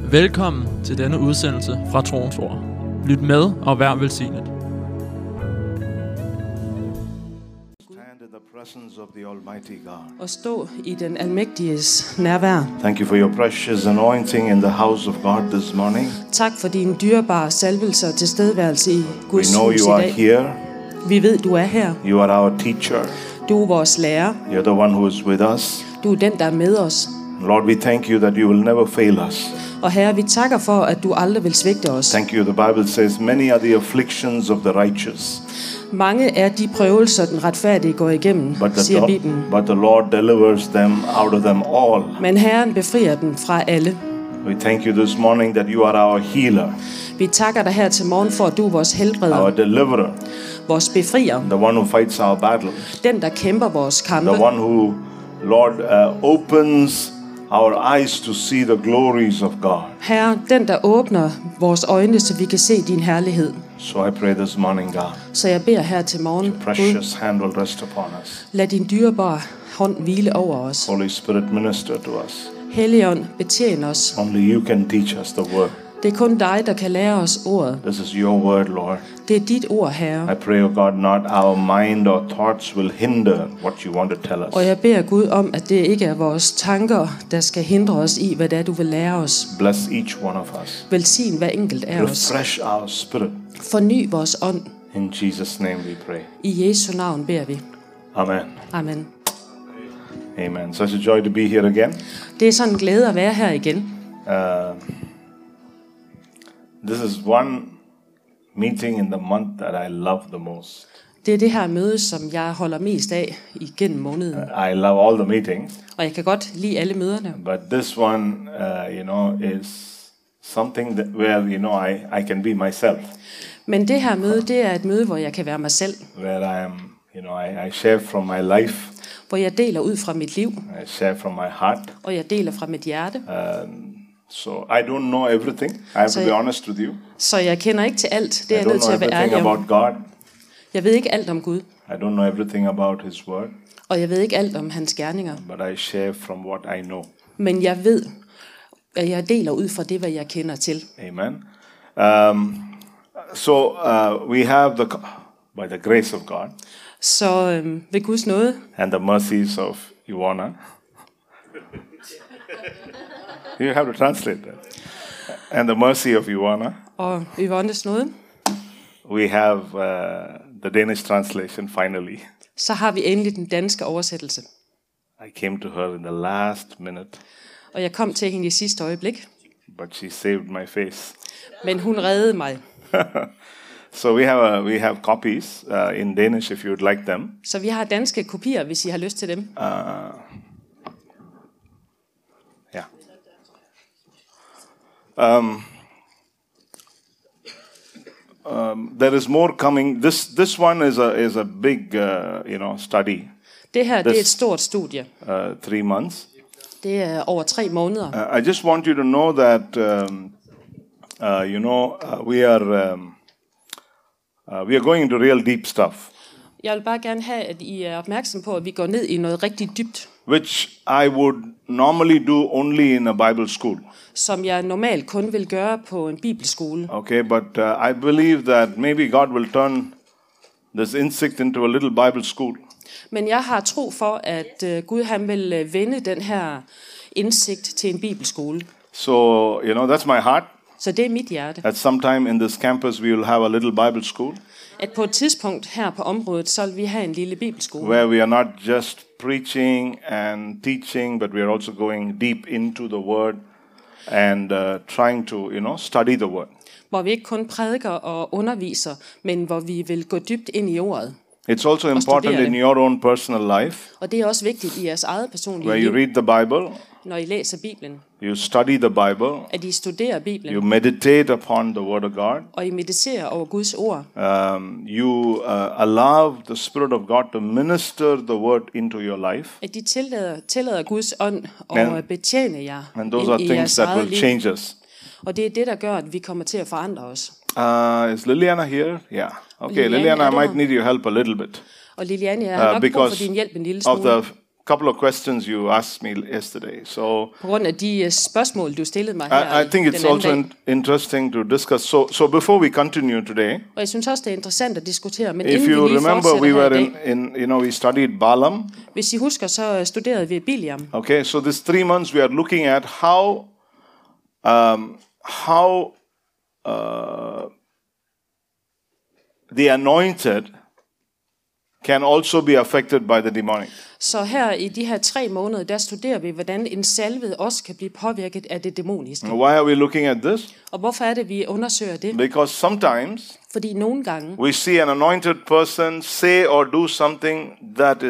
Velkommen til denne udsendelse fra Troens Ord. Lyt med og vær velsignet. Stand in the presence of the Almighty God. Og stå i den almægtiges nærvær. Thank you for your precious anointing in the house of God this morning. Tak for din dyrebare salvelse og tilstedeværelse i We Guds know hus you i are dag. here. Vi ved, du er her. You are our teacher. Du er vores lærer. You're the one who is with us. Du er den, der er med os. Lord, we thank you that you will never fail us. Og Herre, vi takker for, at du aldrig vil svigte os. Thank you. The Bible says, many are the afflictions of the righteous, Mange er de prøvelser, den retfærdige går igennem, siger Bibelen. but the Lord delivers them out of them all. Men Herren befrier dem fra alle. We thank you this morning that you are our healer, Vi takker dig her til morgen for, at du er vores our helbreder, deliverer, vores befrier, the one who fights our battles, den, der kæmper vores kampe. the one who, Lord, opens our eyes to see the glories of God. Herre, den, der åbner vores øjne, så vi kan se din herlighed. So I pray this morning, God, Så jeg beder her til morgen, Gud, precious hand will rest upon us. lad din dyrebare hånd hvile over os. Holy Spirit, minister to us. Helligånd, betjen os. Only you can teach us the word. Det er kun dig, der kan lære os ordet. This is your word, Lord. Det er dit ord, Herre. I pray, oh God, not our mind or thoughts will hinder what you want to tell us. Og jeg beder Gud om, at det ikke er vores tanker, der skal hindre os i, hvad det er, du vil lære os. Bless each one of us. Velsign hver enkelt af os. Refresh our spirit. Forny vores ånd. In Jesus' name we pray. I Jesu navn beder vi. Amen. Amen. Amen. Such a joy to be here again. Det er sådan en glæde at være her igen. This is one meeting in the month that I love the most. Det er det her møde, som jeg holder mest af igennem måneden. I love all the meetings, Og jeg kan godt lide alle møderne. but this one, is something that where I can be myself, Men det her møde, det er et møde, hvor jeg kan være mig selv. where I am, I share from my life, Hvor jeg deler ud fra mit liv, I share from my heart. og jeg deler fra mit hjerte. So I don't know everything. I have to be honest with you. Så jeg kender ikke til alt. Det I er jeg don't nødt til know at være everything ærlig om. about God. Jeg ved ikke alt om Gud, I don't know everything about His Word, og jeg ved ikke alt om hans gerninger. but I share from what I know. Men jeg ved, at jeg deler ud fra det, hvad jeg kender til. Amen. We have by the grace of God Så ved Guds nåde and the mercies of Ivana. You have to translate that. And the mercy of Ivana, og Yvonnes nåde, we have the Danish translation finally. så har vi endelig den danske oversættelse. I came to her in the last minute, Og jeg kom til hende i sidste øjeblik, but she saved my face. men hun reddede mig. So we have copies in Danish if you would like them. Så vi har danske kopier, hvis I har lyst til dem. Yeah. There is more coming. This one is a big study. Det her, det er et stort studie. 3 months. Det er over 3 måneder. I just want you to know that we are going into real deep stuff, Jeg vil bare gerne have, at I er opmærksom på, at vi går ned i noget rigtig dybt, which I would normally do only in a Bible school. som jeg normalt kun vil gøre på en bibelskole. Okay, but I believe that maybe God will turn this insect into a little Bible school. Men jeg har tro for, at Gud han vil vende den her indsigt til en bibelskole. So, that's my heart. Så det er mit hjerte. At some time in this campus, we will have a little Bible school At på et tidspunkt her på området, så vil vi have en lille bibelskole. where we are not just preaching and teaching, but we are also going deep into the Word and trying to, study the Word. Hvor vi ikke kun prædiker og underviser, men hvor vi vil gå dybt ind i ordet. It's also important in your own personal life, Og det er også vigtigt i jeres eget personlige where you liv, read the Bible, når I læser Bibelen. you study the Bible, At I studerer Bibelen, you meditate upon the Word of God, og I mediterer over Guds ord. you allow the Spirit of God to minister the Word into your life. At de tillader Guds ånd og betjene jer And those are ind i things jeres that eget will liv. change us. Og det er det, der gør, at vi kommer til at forandre os. Is Liliana here? Yeah. Okay, Liliana, Liliana, I er du might her? need your help a little bit Og Liliane, jeg har nok brug for because din hjælp en lille of smule. the couple of questions you asked me yesterday. So På grund af de spørgsmål, du stillede mig her I think it's den anden also dag. interesting to discuss. So before we continue today, Og jeg synes også, det er interessant at diskutere. Men if inden you vi lige remember, fortsætter we her i were dag, in we studied Balaam. hvis I husker, så studerede vi Biliam. Okay, so this 3 months we are looking at how the anointed can also be affected by the demonic. Så her i de her 3 måneder, der studerer vi, hvordan en salvet også kan blive påvirket af det dæmoniske. Why are we looking at this? Og hvorfor er det, vi undersøger det? Because sometimes Fordi nogle gange, we see an anointed person say or do something that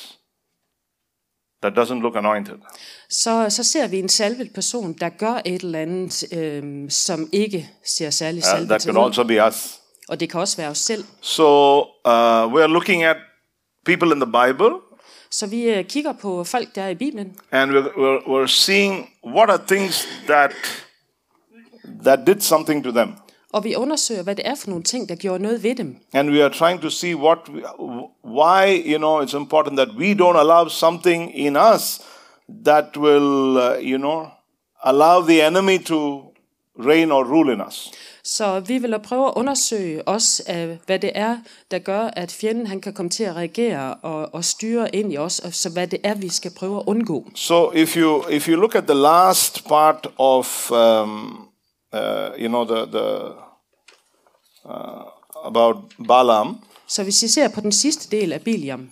doesn't look anointed. så ser vi en salvet person, der gør et eller andet, som ikke ser særlig salvet That til could ud. also be us. Og det kan også være os selv. So we are looking at people in the Bible, Så vi kigger på folk, der er i Bibelen, and we're seeing what are things that did something to them. og vi undersøger, hvad det er for nogle ting, der gjorde noget ved dem. And we are trying to see why it's important that we don't allow something in us that will allow the enemy to reign or rule in us. Så vi vil prøve at undersøge også, hvad det er, der gør, at fjenden han kan komme til at reagere og styre ind i os, og så hvad det er, vi skal prøve at undgå. So if you look at the last part of about Balaam, Så hvis I ser på den sidste del af Biliam,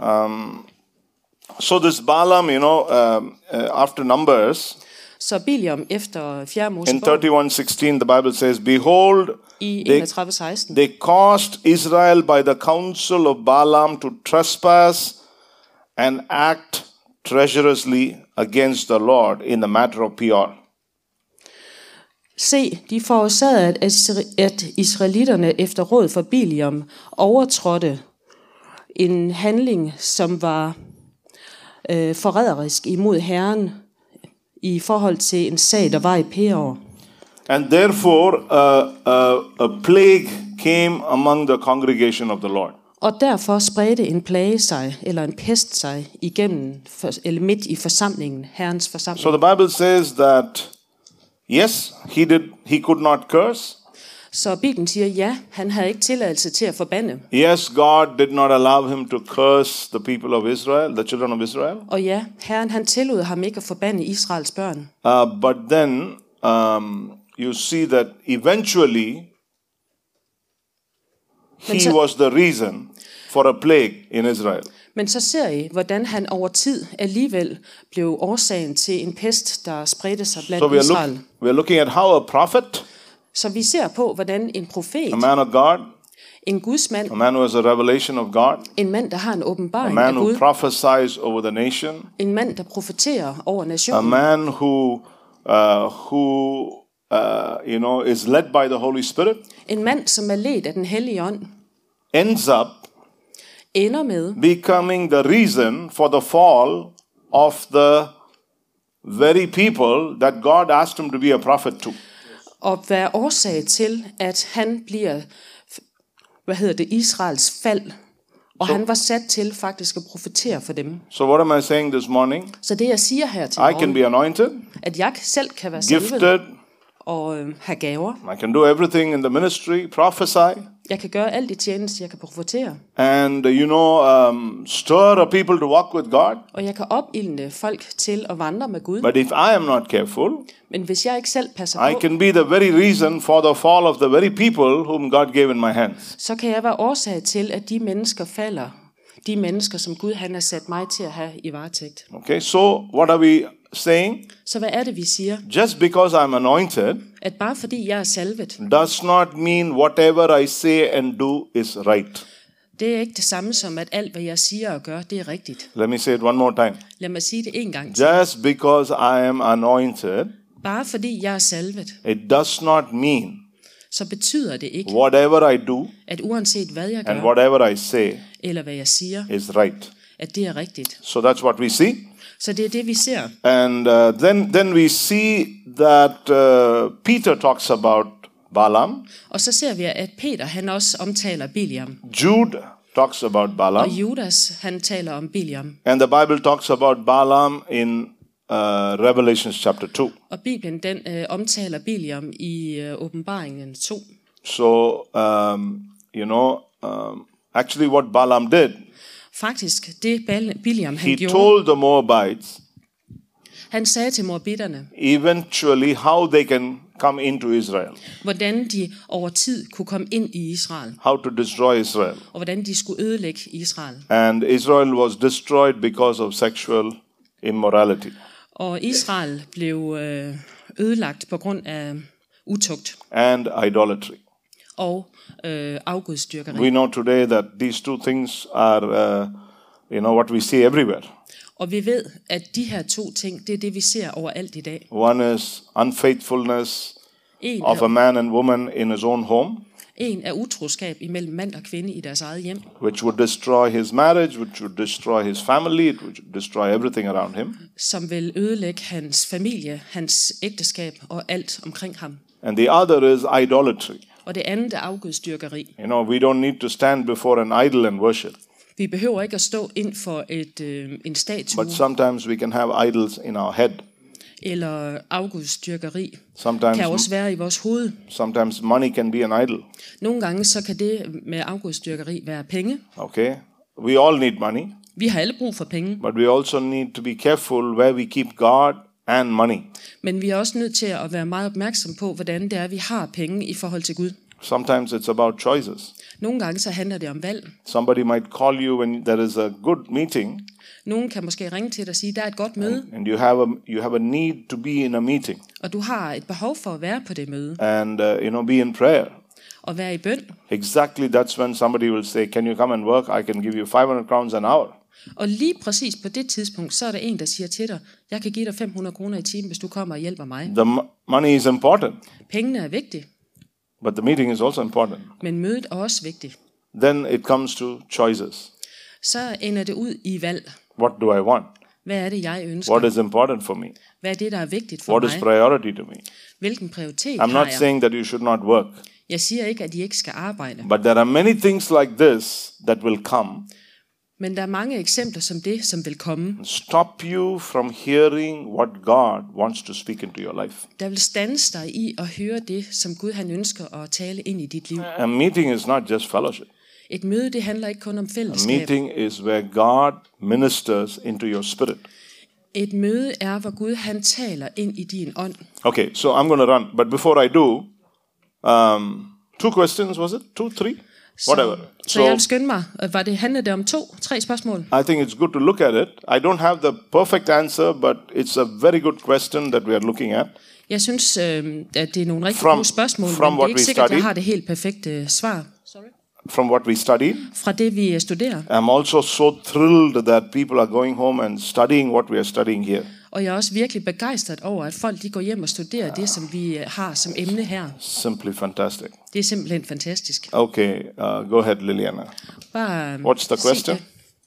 so this Balaam, after Numbers, så Biliam efter 4. in Mosebog 31:16, the Bible says, "Behold, i they 31:16, they caused Israel by the counsel of Balaam to trespass and act treacherously against the Lord in the matter of Peor." se, de forårsagede, at israelitterne efter råd fra Biliam overtrådte en handling, som var forræderisk imod Herren i forhold til en sag, der var i Peor. And therefore, a plague came among the congregation of the Lord. Og derfor spredte en plage sig, eller en pest sig, eller midt i forsamlingen, Herrens forsamling. So the Bible says that, yes, he could not curse. Så Bibelen siger, ja, han havde ikke tilladelse til at forbande. Yes, God did not allow him to curse the people of Israel, the children of Israel. Og ja, Herren han tillod ham ikke at forbande Israels børn. But then you see that eventually he was the reason for a plague in Israel. Men så ser I, hvordan han over tid alligevel blev årsagen til en pest, der spredte sig blandt So Israel. we are looking at how a prophet, Så vi ser på, hvordan en profet, a man of God, en gudsmand, a man who has a revelation of God, en mand, der har en a åbenbaring af man who Gud, prophesies over the nation, en mand, der profeterer over a nationen, man who is led by the Holy Spirit, en mand, som er ledt af den hellige ånd, ends up ender med becoming the reason for the fall of the very people that God asked him to be a prophet to. at være årsag til, at han bliver, Israels fald. Og han var sat til faktisk at profetere for dem. So what am I saying this morning? Så det jeg siger her til I can morgen, be anointed, at jeg selv kan være salvet gifted, og have gaver. I can do everything in the ministry, prophesy, Jeg kan gøre alt i tjeneste, jeg kan profetere. and stir a people to walk with God. Og jeg kan opildne folk til at vandre med Gud. But if I am not careful, Men hvis jeg ikke selv passer I på, can be the very reason for the fall of the very people whom God gave in my hands. så kan jeg være årsag til, at de mennesker falder. De mennesker, som Gud han har sat mig til at have i varetægt. Okay, so what are we saying? Så hvad er det, vi siger? Just because I'm anointed At bare fordi jeg er salvet, does not mean whatever I say and do is right. det er ikke det samme som, at alt, hvad jeg siger og gør, det er rigtigt. Let me say it one more time. Lad mig sige det en gang til. Just because I am anointed, Bare fordi jeg er salvet, it does not mean så betyder det ikke, whatever I do at uanset hvad jeg and gør, whatever I say eller hvad jeg siger, is right. at det er rigtigt. So that's what we see. Så det er det, vi ser. And then we see that Peter talks about Balaam. Og så ser vi, at Peter han også omtaler Biliam. Jude talks about Balaam. Og Judas, han taler om Biliam. And the Bible talks about Balaam in Revelation chapter 2. Og Bibelen, den omtaler Biliam i Åbenbaringen 2. So, actually what Balaam did, Faktisk, det Biliam han he gjorde, told the Moabites han sagde til moabitterne, eventually how they can come into Israel, hvordan de over tid kunne komme ind i Israel, how to destroy Israel. og hvordan de skulle ødelægge Israel. And Israel was destroyed because of sexual immorality. Og Israel blev ødelagt på grund af utugt And idolatry. og afgudsdyrkeri. We know today that these two things are, what we see everywhere. Og vi ved, at de her to ting, det er det, vi ser overalt i dag. One is unfaithfulness of a man and woman in his own home, En er utroskab imellem mand og kvinde i deres eget hjem, which would destroy his marriage, which would destroy his family, it would destroy everything around him. som vil ødelægge hans familie, hans ægteskab og alt omkring ham. And the other is idolatry. Og det andet er afgudsdyrkeri. We don't need to stand before an idol and worship. Vi behøver ikke at stå ind for en statue But sometimes we can have idols in our head. eller afgudsdyrkeri. Sometimes, Kan også være i vores hoved. sometimes money can be an idol. Nogle gange så kan det med afgudsdyrkeri være penge. Okay? We all need money, Vi har alle brug for penge, but we also need to be careful where we keep God and money. men vi er også nødt til at være meget opmærksom på, hvordan det er, vi har penge i forhold til Gud. Sometimes it's about choices. Nogle gange så handler det om valg. Somebody might call you when there is a good meeting, Nogen kan måske ringe til dig og sige, der er et godt møde, and you have a need to be in a meeting og du har et behov for at være på det møde and be in prayer. og være i bøn. Exactly, that's when somebody will say, "Can you come and work? I can give you 500 crowns an hour." Og lige præcis på det tidspunkt, så er der en, der siger til dig, jeg kan give dig 500 kroner i timen, hvis du kommer og hjælper mig. The money is important, Pengene er vigtige, but the meeting is also important. men mødet er også vigtigt. Then it comes to choices. Så ender det ud i valg. What do I want? Hvad er det, jeg ønsker? What is important for me? Hvad er det, der er vigtigt for What mig? is priority to me? Hvilken prioritet I'm har not jeg? saying that you should not work, Jeg siger ikke, at I ikke skal arbejde. but there are many things like this that will come, Men der er mange eksempler som det, som vil komme, stop you from hearing what God wants to speak into your life. der vil standse dig i at høre det, som Gud han ønsker at tale ind i dit liv. A meeting is not just fellowship. Et møde, det handler ikke kun om A fællesskab. meeting is where God ministers into your spirit. Et møde er, hvor Gud han taler ind i din ånd. Okay, so I'm going to run. But before I do, 2 questions, was it? 2, 3? Whatever. Så jeg vil skynde mig. Handlede det om 3 spørgsmål? I think it's good to look at it. I don't have the perfect answer, but it's a very good question that we are looking at. Jeg synes, at det er nogle rigtig From- gode spørgsmål, from men det er what ikke we sikkert, at jeg studied. har det helt perfekte svar. From what we studied, Fra det, vi studerer. I'm also so thrilled that people are going home and studying what we are studying here. Og jeg er også virkelig begejstret over, at folk de går hjem og studerer det, som vi har som emne her. Simply fantastic. Det er simpelthen fantastisk. Okay, go ahead, Liliana. Bare What's the sig question? det.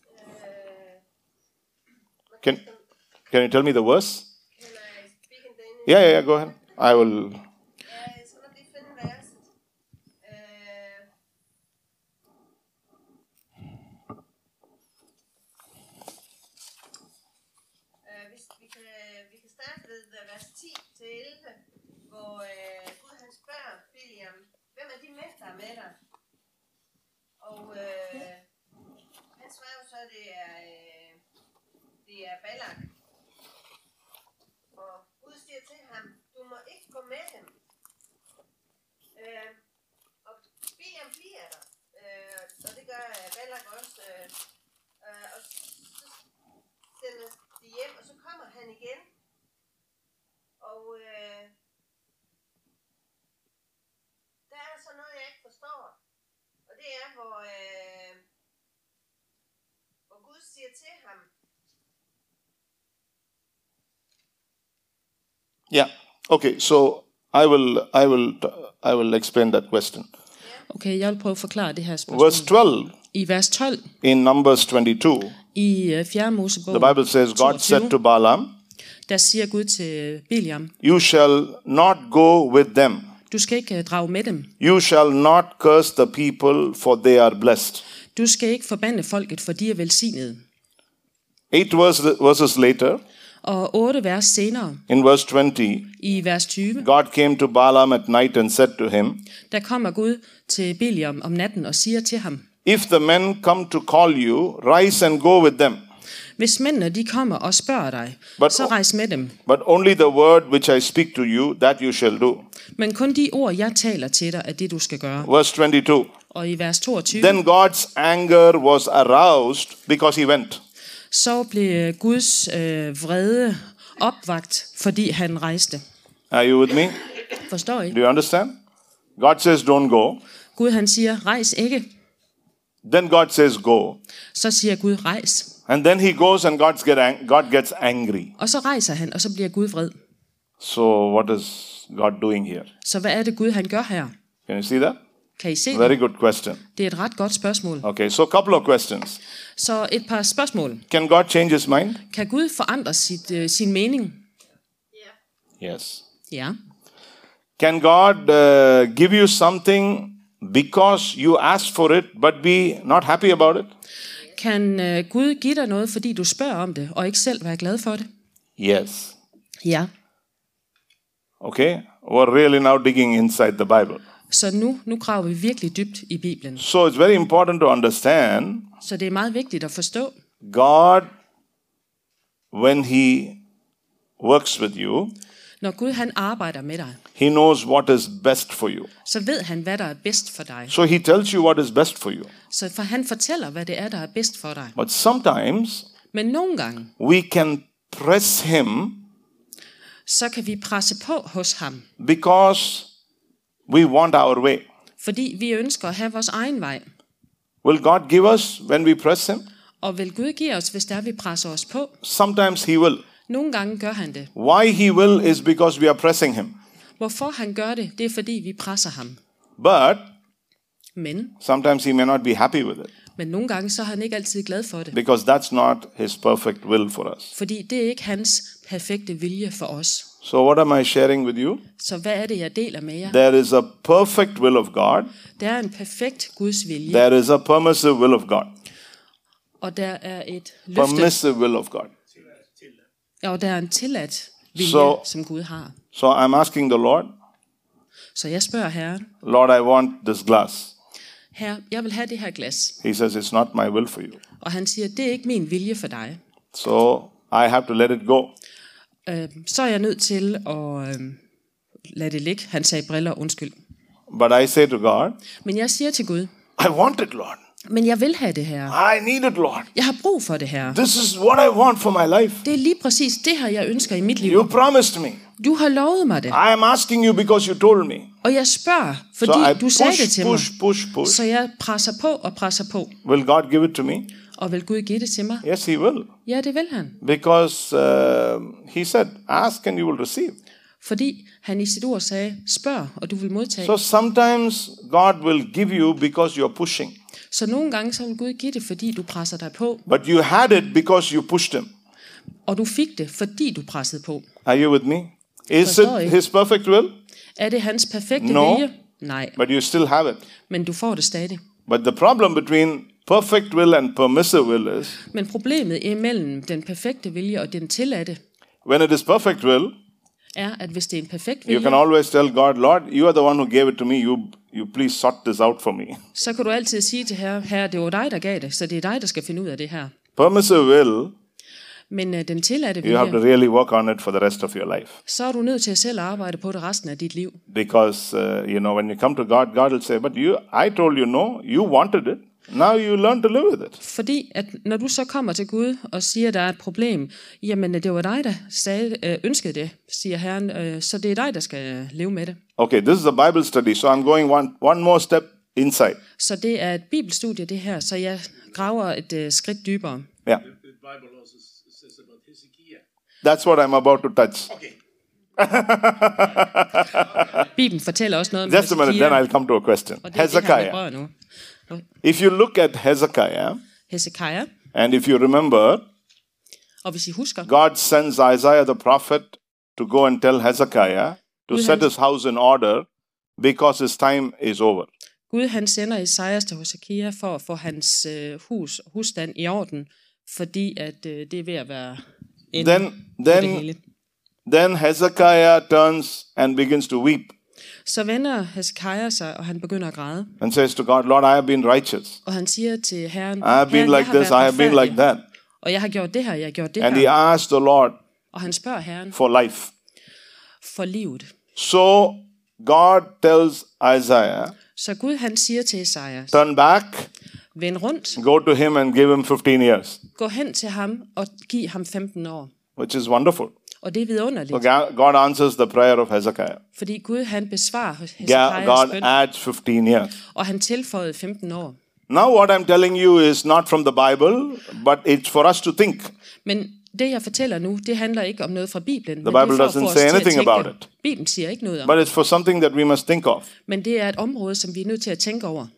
Can you tell me the verse? Can I speak in Danish? Yeah, go ahead. I will. Så må vi finde verset. Vi kan starte ved vers 10 til 11, hvor Gud han spørger Biliam, hvem er de mænd, der er med dig? Og han svarer jo så, at det er Balak. Og Gud siger til ham, du må ikke gå med dem. Og Biliam bliver der, og det gør Balak også. Og så sender de hjem, og så kommer han igen. Og der er så noget, jeg ikke forstår. Og det er, hvor Gud siger til ham, Yeah. Okay. So I will explain that question. Okay, jeg vil prøve at forklare det her spørgsmål. Verse 12 I vers 12 in Numbers 22, i 4. Mosebog, the Bible says, God said to Balaam, der siger Gud til Biliam, "You shall not go with them, Du skal ikke drage med dem. You shall not curse the people, for they are blessed. Du skal ikke forbande folket, for de er velsignede. 8 verses later, Og 8 vers senere, in verse 20, i vers 20, God came to Balaam at night and said to him, der kommer Gud til Biliam om natten og siger til ham, if the men come to call you, rise and go with them. hvis mændene de kommer og spørger dig, så rejs med dem. But only the word which I speak to you, that you shall do. Men kun de ord, jeg taler til dig, er det, du skal gøre. Verse 22. Og i vers 22, Then God's anger was aroused because he went. så blev Guds vrede opvagt, fordi han rejste. Are you with me? Forstår I? Do you understand? God says don't go. Gud han siger, rejs ikke. Then God says go. Så siger Gud, rejs. And then he goes and God gets angry. Og så rejser han, og så bliver Gud vred. So what is God doing here? Så hvad er det Gud han gør her? Can you see that? Kan I se Very det? good question. Det er et ret godt spørgsmål. Okay, so a couple of questions. Så et par spørgsmål. Can God change his mind? Kan Gud forandre sin mening? Yes. Ja. Can God give you something because you asked for it but be not happy about it? Kan Gud give dig noget, fordi du spørger om det, og ikke selv være glad for det? Yes. Ja. Okay, we're really now digging inside the Bible. Så nu graver vi virkelig dybt i Bibelen. So it's very important to understand Så det er meget vigtigt at forstå, God, when he works with you, når Gud han arbejder med dig, he knows what is best for you. så ved han, hvad der er bedst for dig. So he tells you what is best for you. Så for han fortæller, hvad det er, der er bedst for dig. But sometimes Men nogle gange, we can press him så kan vi presse på hos ham, because we want our way. fordi vi ønsker at have vores egen vej. Will God give us when we press him? Og vil Gud give os, hvis der vi presser os på? Sometimes he will. Nogle gange gør han det. Why he will is because we are pressing him. Hvorfor han gør det, det er fordi vi presser ham. But Men sometimes he may not be happy with it nogle gange så er han ikke altid glad for det. because that's not his perfect will for us. Fordi det er ikke hans perfekte vilje for os. So what am I sharing with you? Så hvad er det, jeg deler med jer? There is a perfect will of God. Der er en perfekt Guds vilje, There is a permissive will of God. og der er et løfte, Permissive will of God. og der er en tilladt vilje, som Gud har. So I'm asking the Lord, Så jeg spørger Herren, Lord, I want this glass. Herre, jeg vil have det her glas. He says, it's not my will for you. Og han siger, det er ikke min vilje for dig. So I have to let it go. Så er jeg nødt til at lade det ligge. Han sagde briller, undskyld. But I say to God, Men jeg siger til Gud, I want it, Lord. men jeg vil have det her. I need it, Lord. Jeg har brug for det her. This is what I want for my life. Det er lige præcis det her, jeg ønsker i mit liv. You promised me. Du har lovet mig det. I am asking you because you told me. Og jeg spørger, fordi So I du sagde det til mig. push. Så jeg presser på og presser på. Will God give it to me? Og vil Gud give det til mig? Yes, he will. Ja, det vil han. Because he said, ask and you will receive. Fordi han i sit ord sagde, spørg, og du vil modtage. So sometimes God will give you because you're pushing. Så nogle gange så vil Gud give det, fordi du presser dig på. But you had it because you pushed him. Og du fik det, fordi du pressede på. Are you with me? Is Forstår I? it his perfect will? Er det hans perfekte No. vilje? Nej, But you still have it. men du får det stadig. But the problem between perfect will and permissive will is, Men problemet imellem den perfekte vilje og den tilladte, when it is perfect will, er, at hvis det er en perfekt you can vilje, always tell God, Lord, you are the one who gave it to me. You please sort this out for me. så kan du altid sige til Herre, det var dig, der gav det, så det er dig, der skal finde ud af det her. Permissive will, Men den tilladte you have to vilje, really work on it for the rest of your life. så er du nødt til at selv arbejde på det resten af dit liv. Because, when you come to God, God will say, but I told you no, you wanted it. Now you learn to live with it. Fordi at når du så kommer til Gud og siger, at der er et problem, jamen det var dig, der ønskede det, siger Herren, så det er dig, der skal leve med det. Okay, this is a Bible study, so I'm going one more step inside. Så det er et bibelstudie det her, så jeg graver et skridt dybere. Yeah, The Bible also says about Hezekiah. that's what I'm about to touch. Okay. Bibelen fortæller også noget om Just a minute, then Hezekiah, I'll come to a question. og det er det, han Hezekiah. berører nu. If you look at Hezekiah, Hezekiah, and if you remember, og hvis I husker, God sends Isaiah the prophet to go and tell Hezekiah to set his house in order because his time is over. Gud han sender Esajas til Hesekia for at få hans husstand i orden, fordi at det er ved at være ende på det hele. Then Hezekiah turns and begins to weep Så vender Hesekia sig, og han begynder at græde. and says to God, Lord, I have been righteous. Og han siger til Herren, I have been like this, I have been like that. Og jeg har gjort det her, jeg har gjort det And he her. asked the Lord Og han spørger Herren for life. for livet. So God tells Isaiah, Så Gud han siger til Esajas, turn back, vend rundt, go to him and give him 15 years, gå hen til ham og giv ham 15 år. which is wonderful. Og det er vidunderligt, So God answers the prayer of Hezekiah. fordi Gud han besvarer Hesekias God bøn, adds 15 years. og han tilføjede 15 år. Now what I'm telling you is not from the Bible, but it's for us to think. Men det jeg fortæller nu, det handler ikke om noget fra Bibelen, men Bible det er for at doesn't få os say til at anything tænke. about it. Bibelen siger ikke noget om, But it's for something that we must think of. men det er et område, som vi er nødt til at tænke over.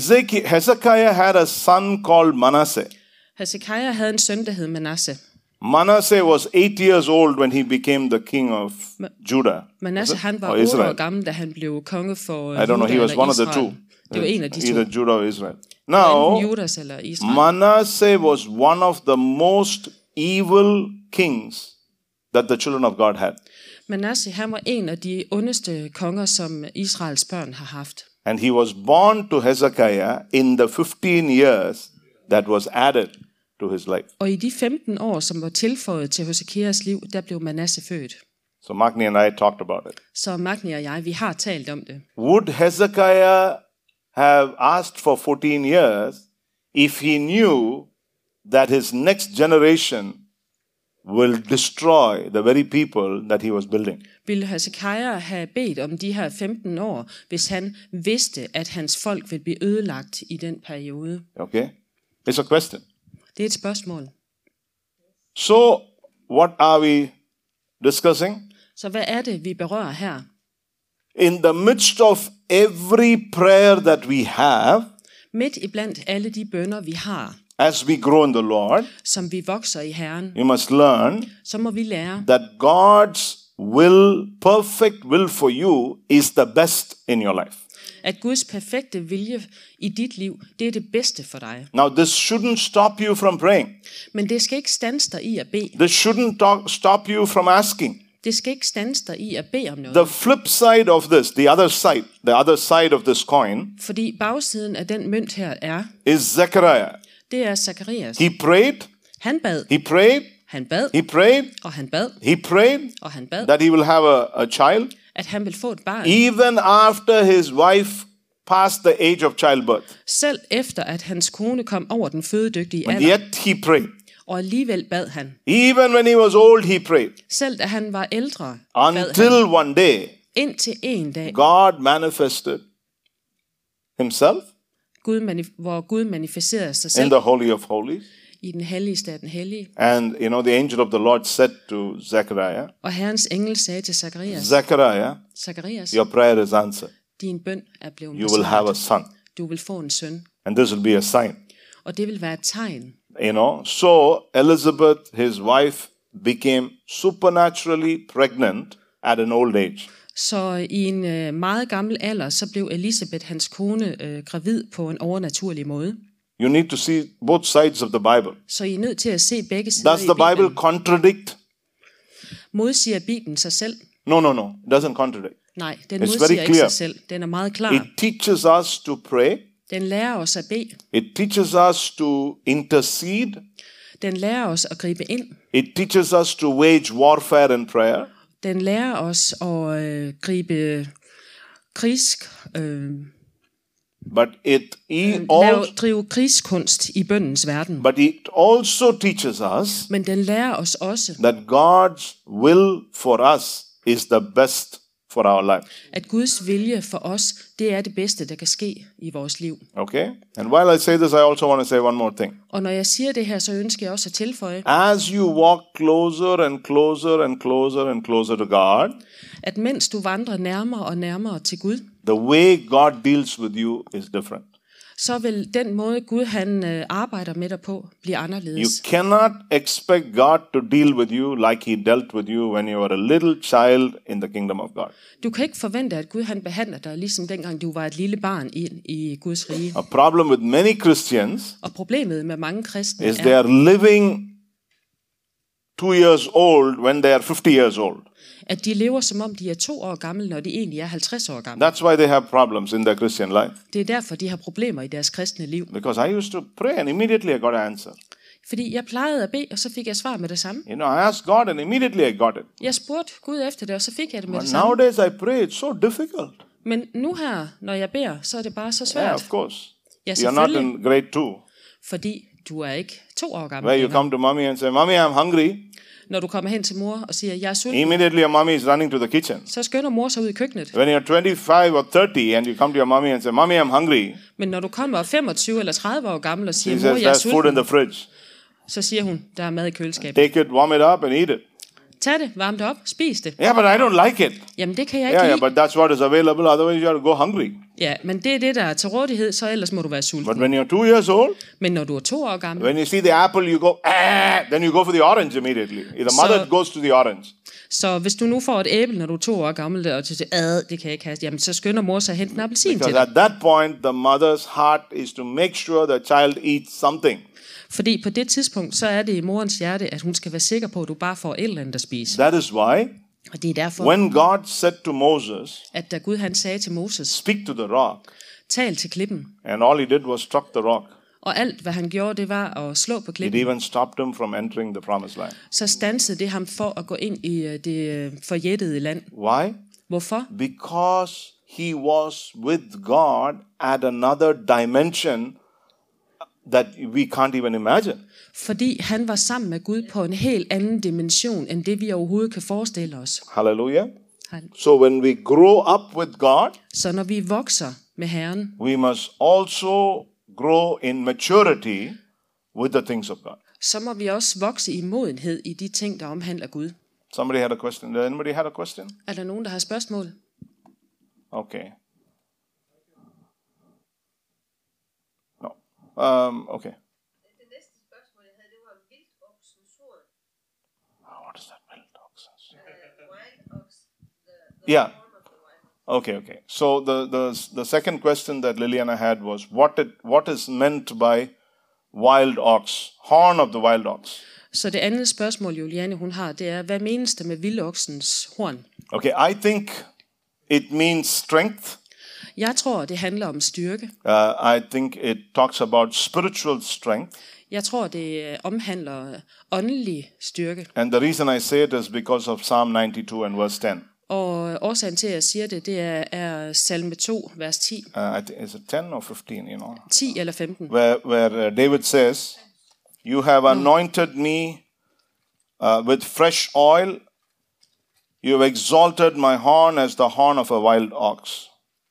Hezekiah had a son called Manasseh. Hesekiah havde en søn, der hed Manasse. Manasseh was 8 years old when he became the king of Judah. Manasse han var Or 8 år Israel. gammel, da han blev konge for I don't know, Juda he was eller one of the Israel. two. Det var en af de to. Either Judah or Israel. Enten Now, Judas eller Israel. Manasseh was one of the most evil kings that the children of God had. Manasse han var en af de ondeste konger, som Israels børn har haft. And he was born to Hezekiah in the 15 years that was added to his life. Og i de 15 år, som var tilføjet til Hesekias liv, der blev Manasse født. So Magni and I talked about it. Så Magni og jeg, vi har talt om det. Would Hezekiah have asked for 14 years if he knew that his next generation will destroy the very people that he was building? Ville Hesekiah have bedt om de her 15 år, hvis han vidste, at hans folk ville blive ødelagt i den periode? Okay? It's a question. Det er et spørgsmål. So, what are we discussing? Så hvad er det, vi berører her? In the midst of every prayer that we have, Midt iblandt alle de bønner, vi har, as we grow in the Lord, som vi vokser i Herren, you must learn så må vi lære, that God's perfect will for you is the best in your life. at Guds perfekte vilje i dit liv, det er det bedste for dig. Now, this shouldn't stop you from praying. Men det skal ikke standse dig i at bede. This shouldn't stop you from asking. Det skal ikke standse dig i at bede om noget. The flip side of this, the other side of this coin, Fordi bagsiden af den mønt her er, is Zechariah. det er Zacharias. He prayed, Han bad, he prayed, han bad, he prayed, og han bad, he prayed og han bad, that he will have a child, at han vil få et barn. even after his wife passed the age of childbirth. Selv efter at hans kone kom over den fødedygtige And alder, yet he prayed. og alligevel bad han. Even when he was old, he prayed. Selv da han var ældre, bad han. Until one day, Indtil en dag, God manifested himself hvor Gud manifesterede sig in selv the Holy of Holies. i den helligste af den hellige. And, the angel of the Lord said to Zechariah, Og Herrens engel sagde til Zacharias, Zechariah, your prayer is answered. din bøn er blevet You will have a besvaret. son. Du vil få en søn. And this will be a sign. Og det vil være et tegn. So Elizabeth, his wife, became supernaturally pregnant at an old age. Så i en meget gammel alder, så blev Elisabeth, hans kone, gravid på en overnaturlig måde. You need to see both sides of the Bible. Så I er nødt til at se begge sider Does i the Bible Bibelen. contradict? Modsiger Bibelen sig selv? No. It doesn't contradict. Nej, den It's modsiger very ikke clear. sig selv. Den er meget klar. It teaches us to pray. Den lærer os at bede. It teaches us to intercede. Den lærer os at gribe ind. It teaches us to wage warfare in prayer. Den lærer os at gribe drive krigskunst i bønnens verden. But it also teaches us Men den lærer os også, that God's will for us is the best for our life. at Guds vilje for os, det er det bedste, der kan ske i vores liv. Okay? And while I say this, I also want to say one more thing. Og når jeg siger det her, så ønsker jeg også at tilføje, As you walk closer and closer and closer and closer to God, at mens du vandrer nærmere og nærmere til Gud, the way God deals with you is different. så vil den måde, Gud han arbejder med dig på, blive You anderledes. cannot expect God to deal with you like he dealt with you when you were a little child in the kingdom of God. Du kan ikke forvente, at Gud han behandler dig, ligesom dengang du var et lille barn i Guds rige. A problem with many Christians Og problemet med mange kristne is they er, are living 2 years old when they are 50 years old. at de lever, som om de er 2 år gamle, når de egentlig er 50 år gamle. That's why they have problems in their Christian life. Det er derfor, de har problemer i deres kristne liv. Because I used to pray and immediately I got an answer. Fordi jeg plejede at bede, og så fik jeg svar med det samme. You know, I asked God and immediately I got it. Jeg spurgte Gud efter det, og så fik jeg det med But det samme. nowadays I pray, it's so difficult. Men nu her, når jeg beder, så er det bare så Yeah, svært. of course. Ja, You're not selvfølgelig. in grade 2, Fordi du er ikke 2 år gammel where you længere. come to mommy and say, Mommy, I'm hungry. Når du kommer hen til mor og siger, jeg er sulten, Immediately your mommy is running to the kitchen. så skynder mor sig ud i køkkenet. When you're 25 or 30 and you come to your mommy and say, Mommy, I'm hungry, Men når du kommer 25 eller 30 år gammel og siger, she mor, says, jeg er there's food in sulten, the fridge. så siger hun, der er mad i køleskabet. Take it, warm it up and eat it. Tag det, varm det op, spis det. Yeah, but I don't like it. Jamen det kan jeg ikke Yeah, lide. but that's what is available. Otherwise you have to go hungry. Ja, men det er det, der er til rådighed, så ellers må du være sulten. But when you're 2 years old, Men når du er 2 år gammel, when you see the apple, you go, then you go for the orange immediately. The mother goes to the orange. så hvis du nu får et æble, når du er 2 år gammel, og du siger, det kan jeg ikke have, jamen så skynder mor sig at hente en appelsin til Because dig. at that point, the mother's heart is to make sure the child eats something. Fordi på det tidspunkt, så er det i morens hjerte, at hun skal være sikker på, at du bare får et eller andet at spise. That is why Og det er derfor, when God said to Moses, at da Gud han sagde til Moses, speak to the rock, tal til klippen. and all he did was struck the rock, Og alt, hvad han gjorde, det var at slå på it klippen. even stopped him from entering the promised land. Så stansede det ham for at gå ind i det forjættede land. Why? Hvorfor? Because he was with God at another dimension that we can't even imagine. Fordi han var sammen med Gud på en helt anden dimension, end det vi overhovedet kan forestille os. Hallelujah. So when we grow up with God, Så når vi vokser med Herren, we must also grow in maturity with the things of God. så må vi også vokse i modenhed i de ting, der omhandler Gud. Somebody had a question. Did anybody have a question? Er der nogen, der har spørgsmål? Okay. No. Okay. Det næste spørgsmål, jeg havde, det var vildoksens horn. What is that? Wild oxen? Wild ox. The Yeah. horn of the wild. Okay. So the second question that Liliana had was what is meant by wild ox, horn of the wild ox. Så det andet spørgsmål, Juliane hun har, det er, hvad menes der med vildoksens horn? Okay, I think it means strength. Jeg tror, det handler om styrke. I think it talks about spiritual strength. Jeg tror, det omhandler åndelig styrke. And the reason I say it is because of Psalm 92 and verse 10. Og årsagen til, at jeg siger det, det er salme 2, vers 10. I think, is it 10 or 15, 10 eller 15. Where David says, you have anointed me with fresh oil. You have exalted my horn as the horn of a wild ox.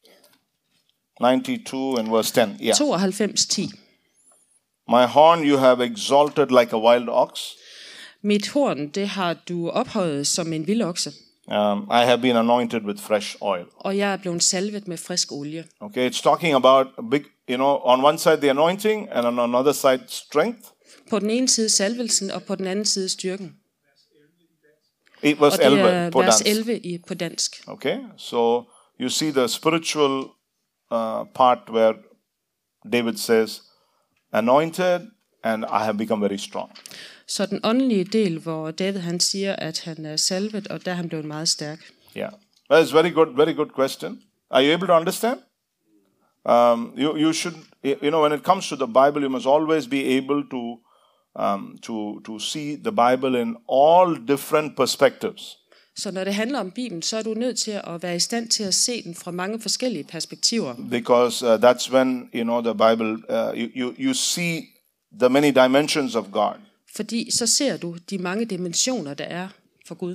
92 and verse 10. Yeah. 92, 10. My horn you have exalted like a wild ox. Mit horn, det har du ophøjet som en vildokse, I have been anointed with fresh oil. og jeg er blevet salvet med frisk olie. Okay, it's talking about a big, on one side the anointing and on another side strength. På den ene side salvelsen, og på den anden side styrken. It was Og det 11 er på vers dansk. 11 på dansk. Okay, so you see the spiritual part where David says, anointed and I have become very strong. Så den åndelige del, hvor David han siger, at han er salvet, og der er han blevet meget stærk. Yeah, that's very good question. Are you able to understand? You should, when it comes to the Bible, you must always be able to see the Bible in all different perspectives. Så når det handler om Bibelen, så er du nødt til at være i stand til at se den fra mange forskellige perspektiver. Because that's when, the Bible, you see the many dimensions of God. Fordi så ser du de mange dimensioner, der er for Gud.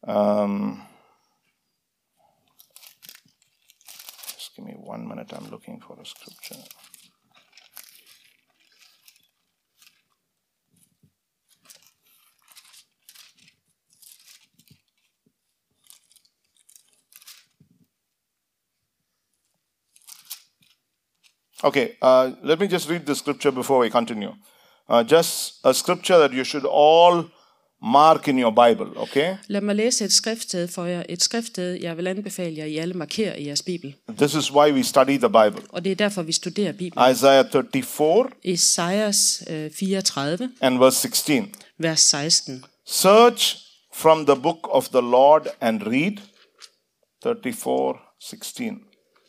Just give me 1 minute, I'm looking for a scripture. Okay, let me just read the scripture before we continue. Just a scripture that you should all mark in your Bible, okay? Lad mig læse et skriftsted for jer. Et skriftsted, jeg vil anbefale jer, I alle markerer i jeres Bibel. This is why we study the Bible. Og det er derfor, vi studerer Bibelen. Isaiah 34 Esajas 34, and verse 16. vers 16. Search from the book of the Lord and read. 34:16.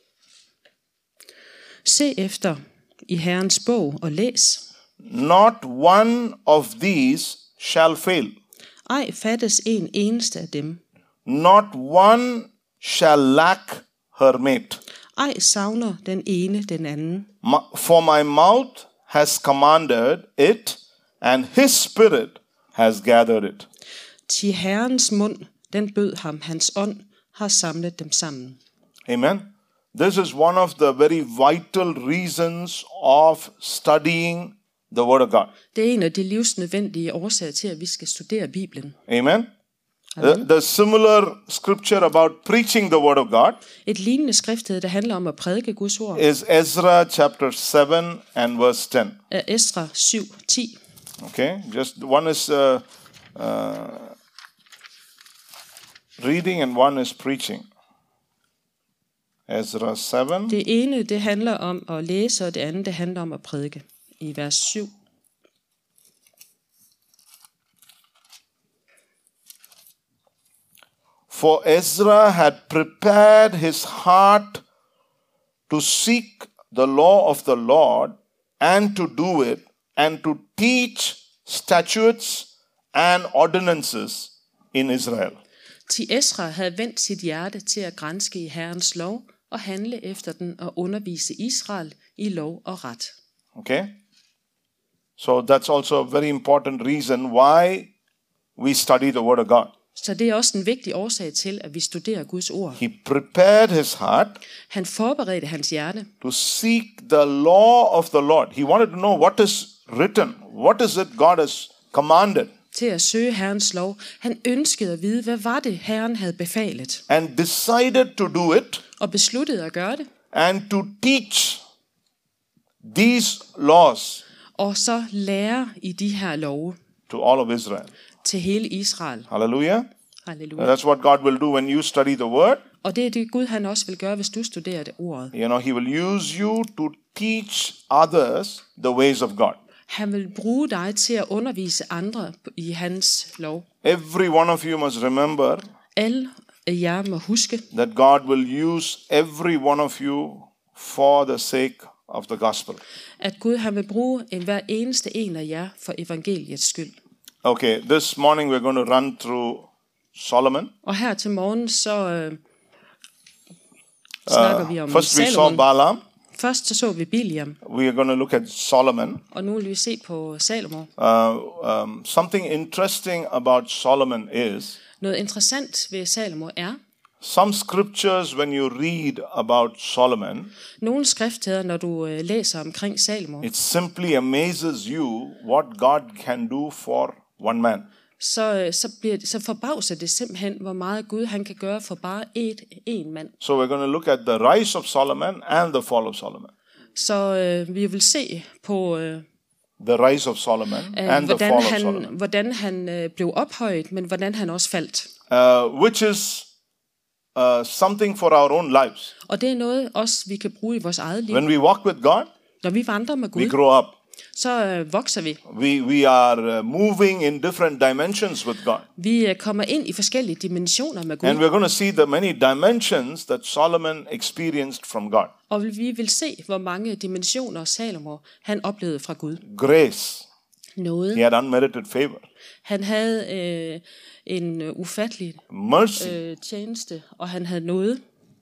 Se efter i Herrens bog og læs. Not one of these shall fail. Ej fattes en eneste af dem. Not one shall lack her mate. Ej savner den ene den anden. For my mouth has commanded it, and his spirit has gathered it. Til Herrens mund, den bød ham, hans ånd har samlet dem sammen. Amen. This is one of the very vital reasons of studying the Word of God. Det er en af de livsnødvendige årsager til, at vi skal studere Bibelen. Amen. The similar scripture about preaching the Word of God Et lignende skriftsted, der handler om at prædike Guds ord, is Ezra chapter 7 and verse 10. er Esra 7:10. Okay, just one is reading and one is preaching. Ezra 7. Det ene, det handler om at læse, og det andet, det handler om at prædike. I vers 7. For Ezra had prepared his heart to seek the law of the Lord and to do it and to teach statutes and ordinances in Israel. Til Esra havde vendt sit hjerte til at granske i Herrens lov og handle efter den og undervise Israel i lov og ret. Okay? So that's also a very important reason why we study the Word of God. Så det er også en vigtig årsag til, at vi studerer Guds ord. He prepared his heart Han forberedte hans hjerte to seek the law of the Lord. He wanted to know what is written. What is it God has commanded? til at søge Herrens lov. Han ønskede at vide, hvad var det, Herren havde befalet. And decided to do it. Og besluttede at gøre det. And to teach these laws Og så lære i de her love to all of Israel. til hele Israel. Hallelujah. Halleluja. That's what God will do when you study the word. Og det er det Gud han også vil gøre, hvis du studerer det ordet. You know, he will use you to teach others the ways of God. Han vil bruge dig til at undervise andre i hans lov. Every one of you must remember Alle jer må huske, that God will use every one of you for the sake of the gospel. at Gud han vil bruge hver eneste en af jer for evangeliets skyld. Okay, this morning we're going to run through Solomon. Og her til morgen så snakker vi om First we saw Salomon. Balaam. Først så vi Biliam, We are going to look at Solomon. og nu vil vi se på Salomon. Something interesting about Solomon is Noget interessant ved Salomon er, some scriptures when you read about Solomon, nogle skriftsteder, når du læser omkring Salomon, it simply amazes you what God can do for one man. så forbavser det simpelthen, hvor meget Gud han kan gøre for bare en mand. So we're going to look at the rise of Solomon and the fall of Solomon. Så vi vil se på The rise of Solomon and the fall of Solomon. hvordan han blev ophøjet, men hvordan han også faldt. Which is something for our own lives. Og det er noget også, vi kan bruge i vores eget liv. When we walk with God, Når vi vandrer med we Gud, grow up. så vokser vi. We are moving in different dimensions with God. Vi kommer ind i forskellige dimensioner med Gud. And we're going to see the many dimensions that Solomon experienced from God. Og vi vil se, hvor mange dimensioner Salomon han oplevede fra Gud. Grace. Noget. He had unmerited favor. Han havde en ufattelig Mercy. tjeneste, og han havde noget.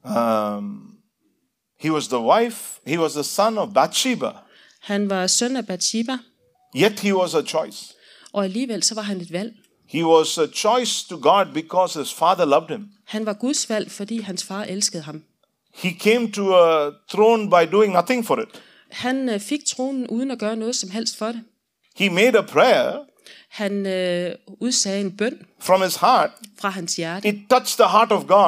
He was the son of Bathsheba. Han var søn af Bathsheba, Yet he was a choice. og alligevel så var han et valg. He was a choice to God because his father loved him. Han var Guds valg, fordi hans far elskede ham. He came to a throne by doing nothing for it. Han fik tronen uden at gøre noget som helst for det. He made a prayer Han udsagde en bøn from his heart. fra hans hjerte, It touched the heart of God.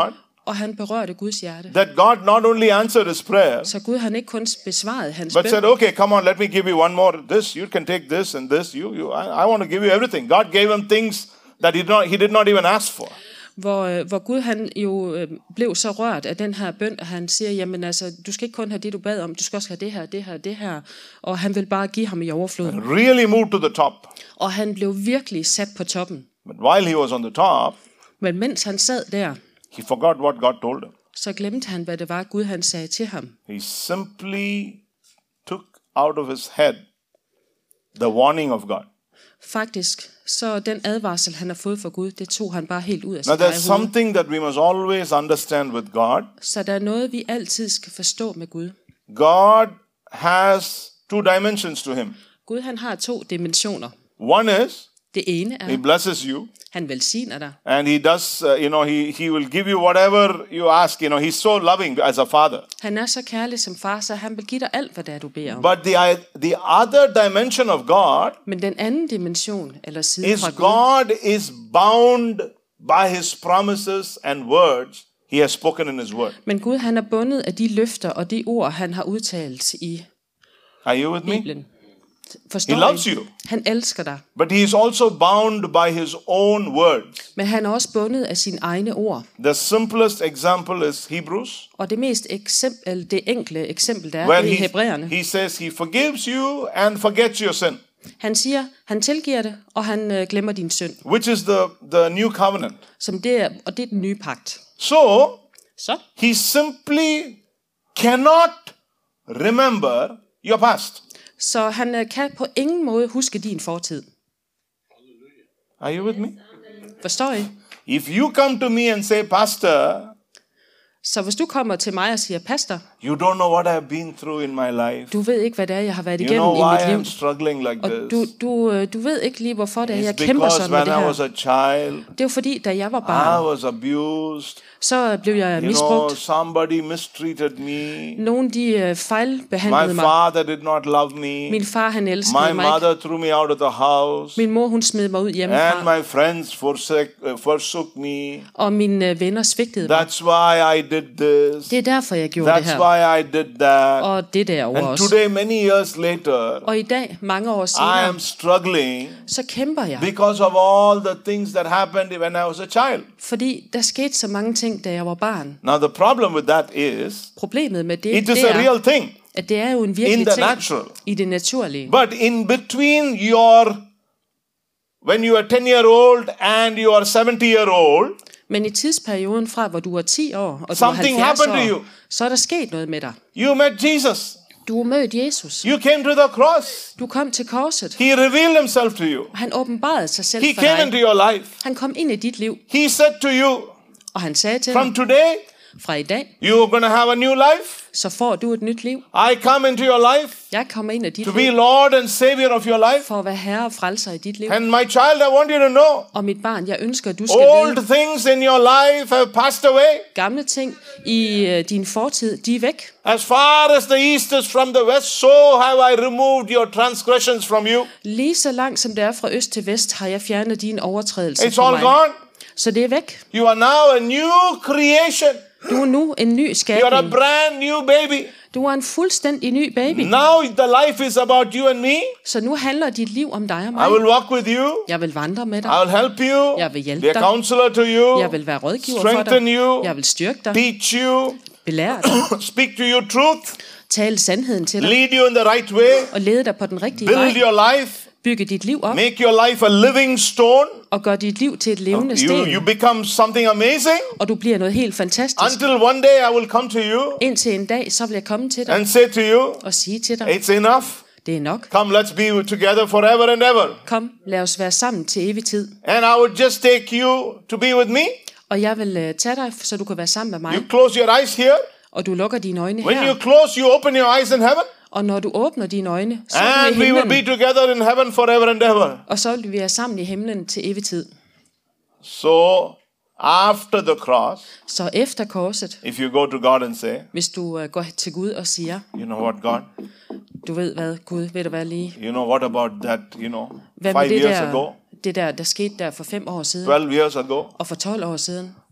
og han berørte Guds hjerte. That God not only answered his prayer, Så Gud han ikke kun besvarede hans but bøn, said, okay, come on, let me give you one more. This, you can take this and this. I want to give you everything. God gave him things that he did not even ask for. hvor Gud han jo blev så rørt af den her bøn, at han siger, jamen altså, du skal ikke kun have det, du bad om, du skal også have det her, det her, det her. Og han vil bare give ham i overflod. Really moved to the top. Og han blev virkelig sat på toppen. But while he was on the top, Men mens han sad der, he forgot what God told him. så glemte han, hvad det var, Gud han sagde til ham. He simply took out of his head the warning of God. Faktisk, så den advarsel, han har fået fra Gud, det tog han bare helt ud af Now sit eget there's hoved. something that we must always understand with God. Så der er noget, vi altid skal forstå med Gud. God has two dimensions to him. Gud han har 2 dimensioner. One is, Det ene he er, blesses you, han velsigner dig. and he does, he will give you whatever you ask. He's so loving as a father. Han er så kærlig som far, så han vil give dig alt, hvad det er, du beder om. But the other dimension of God Men den anden dimension, eller side is fra Gud, God is bound by his promises and words he has spoken in his word. men Gud han er bundet af de løfter og de ord, han har udtalt i Are you with me? Bibelen. Forstår He loves I? you. Han elsker dig, But he is also bound by his own words. men han er også bundet af sine egne ord. The simplest example is Hebrews, Og det mest det enkle eksempel, der er, where det er i Hebræerne. he says he forgives you and forgets your sin, Han siger, han tilgiver det, og han glemmer din synd. which is the new covenant. Som det er, og det er den nye pagt. So Så he simply cannot remember your past. Så han kan på ingen måde huske din fortid. Are you with me? Forstår I? If you come to me and say, Pastor, Så hvis du kommer til mig og siger, pastor, you don't know what I've been through in my life. du ved ikke, hvad det er, jeg har været You igennem know i why mit liv. I'm struggling like Og this. du ved ikke lige, hvorfor det er, jeg It's kæmper because sådan med when det I was her. a child, Det er jo fordi, da jeg var I barn, was abused. så blev jeg You know, misbrugt. somebody mistreated me. Nogle de fejlbehandlede My mig. father did not love me. Min far, han elskede My mig ikke. mother threw me out of the house. Min mor, hun smed mig ud And hjemmefra. my friends forsook me. Og mine venner svigtede mig. That's why I did this. Det er derfor, jeg gjorde det That's her. why I did that. Og det derovre And også. today, many years later, Og i dag, mange år I senere, am struggling så kæmper jeg. because of all the things that happened when I was a child. Fordi der skete så mange ting, da jeg var barn. Now, the problem with that is, Problemet med det, it is det a er, real thing at det er jo en in virkelig the ting natural. i det naturlige. But in between when you are 10-year-old and you are 70-year-old, Men i tidsperioden fra, hvor du var 10 år, og du var Something 70 happened to år, you. så er der sket noget med dig. you met Jesus. Du har mødt Jesus. You came to the cross. Du kom til korset. He revealed himself to you. Han åbenbarede sig selv He for came into dig. your life. Han kom ind i dit liv, He said to you, og han sagde til from dig, today, fra i dag, you're going to have a new life. så får du et nyt liv. I come into your life Jeg kommer ind i dit to be liv, Lord and Savior of your life. for at være herre og frelser i dit liv. And my child, I want you to know, Og mit barn, jeg ønsker, at du skal old vide, things in your life have passed away. gamle ting i din fortid, de er væk. As far as the east is from the west, so have I removed your transgressions from you. Lige så langt som det er fra øst til vest, har jeg fjernet dine overtrædelser It's fra all mig. gone. Så det er væk. You are now a new creation. Du er nu en ny You are a skabning. brand new baby. Du er en fuldstændig ny baby. Now the life is about you and me. Så nu handler dit liv om dig og I mig. will walk with you. Jeg vil vandre med I dig. will help you. Jeg vil hjælpe Be a dig. counselor to you. Jeg vil være rådgiver for Strengthen dig. you. Jeg vil styrke dig. Teach you. Belære dig. Speak to you truth. Tale sandheden til dig. Lead you in the right way. Og lede dig på den rigtige Build vej. your life. Bygge dit liv op. Make your life a living stone. Og gør dit liv til et levende You sten. become something amazing. Og du bliver noget helt fantastisk. Until one day I will come to you Indtil en dag, så vil jeg komme til dig and say to you, og sige til dig, it's enough. det er nok. Come, let's be together forever and ever. Kom, lad os være sammen til evig tid. And I would just take you to be with me. Og jeg vil tage dig, så du kan være sammen med mig. You close your eyes here. Og du lukker dine øjne When you her. close, you open your eyes in heaven. Og når du åbner dine øjne, så er du And i we will be himlen. together in heaven forever and ever. Og så vil vi være sammen i himlen til evig tid. So, after the cross, Så efter korset, if you go to God and say, hvis du går til Gud og siger, you know what, God, du ved hvad, Gud, ved du hvad lige? you know, what about that, Hvad med 5 det years ago, der skete der for 5 år siden, 12 years ago? og for 12 år siden?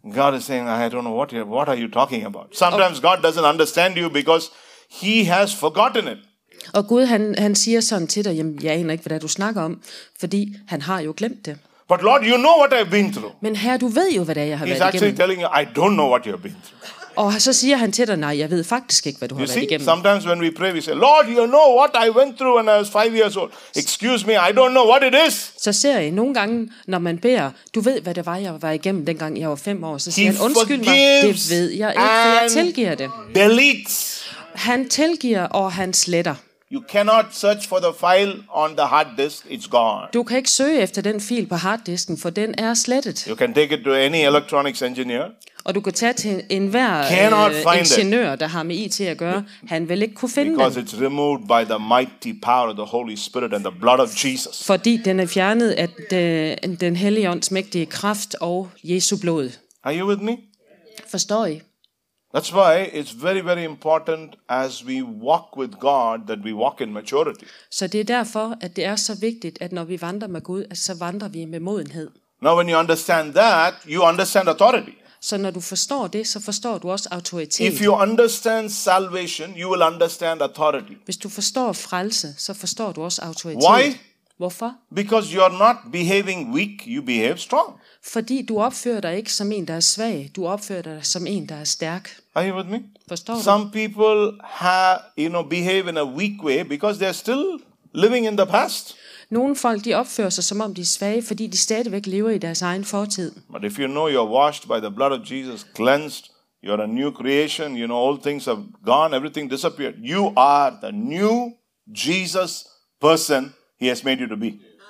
God is saying, I don't know what are you talking about. Sometimes God doesn't understand you because he has forgotten it. Og Gud, han siger sådan til dig, jamen, jeg aner ikke, hvad det er, du snakker om, fordi han har jo glemt det. But Lord, you know what I've been through. Men Herre, du ved jo, hvad det er, jeg har He's været actually igennem. telling you, I don't know what you've been through. Og så siger han til dig, nej, jeg ved faktisk ikke, hvad du har You været see, igennem. sometimes when we pray, we say, Lord, you know what I went through when I was 5 years old. Excuse me, I don't know what it is. Så ser I nogle gange, når man beder, du ved, hvad det var, jeg var igennem, dengang jeg var 5 år, så siger He han, undskyld mig, forgives det ved jeg ikke, for jeg and tilgiver det. Deletes. Han tilgiver, og han sletter. You cannot search for the file on the hard disk. It's gone. Du kan ikke søge efter den fil på harddisken, for den er slettet. You can take it to any electronics engineer. Og du kan tage til enhver Cannot find it. ingeniør, der har med IT at gøre. Han vil ikke kunne finde Because den, it's removed by the mighty power of the Holy Spirit and the blood of Jesus. fordi den er fjernet af den hellige ånds mægtige kraft og Jesu blod. Are you with me? Forstår I? That's why it's very, very important as we walk with God that we walk in maturity. Så det er derfor, at det er så vigtigt, at når vi vandrer med Gud, at så vandrer vi med modenhed. Now, when you understand that, you understand authority. Så når du forstår det, så forstår du også autoritet. If you understand salvation, you will understand authority. Hvis du forstår frelse, så forstår du også autoritet. Why? Hvorfor? Because you are not behaving weak, you behave strong. Fordi du opfører dig ikke som en, der er svag. Du opfører dig som en, der er stærk. Are you with me? Forstår du? Some people behave in a weak way because they are still living in the past. Nogle folk, de opfører sig, som om de er svage, fordi de stadigvæk lever i deres egen fortid. But if you know you're washed by the blood of Jesus, cleansed, you're a new creation, you know all things have gone, everything disappeared. You are the new Jesus person he has made you to be.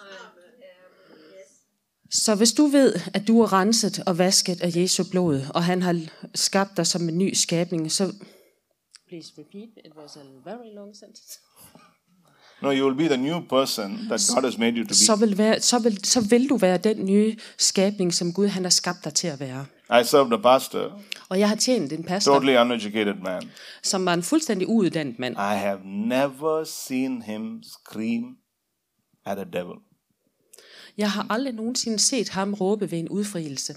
Så hvis du ved, at du er renset og vasket af Jesu blod, og han har skabt dig som en ny skabning, så... Please repeat, it was a very long sentence. No, you will be the new person that God has made you to be. Så vil du være den nye skabning, som Gud han har skabt dig til at være. I served a pastor, Og jeg har tjent en pastor, totally uneducated man. som var en fuldstændig uuddannet mand. I have never seen him scream at a devil. Jeg har aldrig nogensinde set ham råbe ved en udfrielse.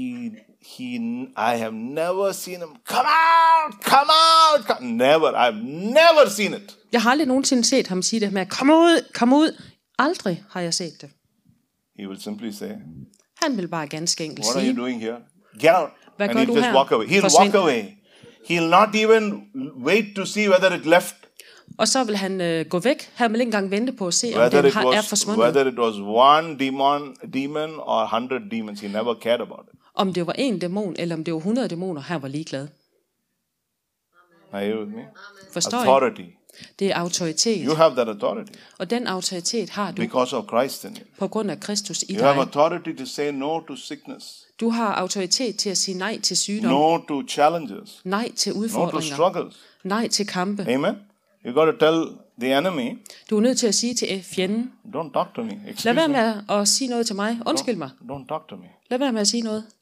I have never seen him, come out, come out, come. Never, I've never seen it. Jeg har aldrig nogensinde set ham sige det med, kom ud, kom ud. Aldrig har jeg set det. He will simply say, Han vil bare ganske enkelt what are you sige, doing here? Get out. Hvad And gør he'll du just her? walk away. He'll Forsvind. walk away. He'll not even wait to see whether it left. og så vil han gå væk. Han vil ikke engang vente på at se, om Whether den it er was forsvundet. one demon or 100 demons, he never cared about it. Om det var en dæmon, eller om det var 100 dæmoner, han var ligeglad. Are you with me? Forstår I? Authority. Det er autoritet. You have that authority Og den autoritet har du because of Christ in you. på grund af Kristus i You have dig. authority to say no to sickness, Du har autoritet til at sige nej til sygdom, no to challenges, nej til no to udfordringer, struggles. nej til kampe. Amen. You got to tell the enemy, Du er nødt til at sige til fjenden, don't talk to me. lad Excuse være me. med at sige noget til mig. Undskyld mig. Don't talk to me. Lad være med at sige noget.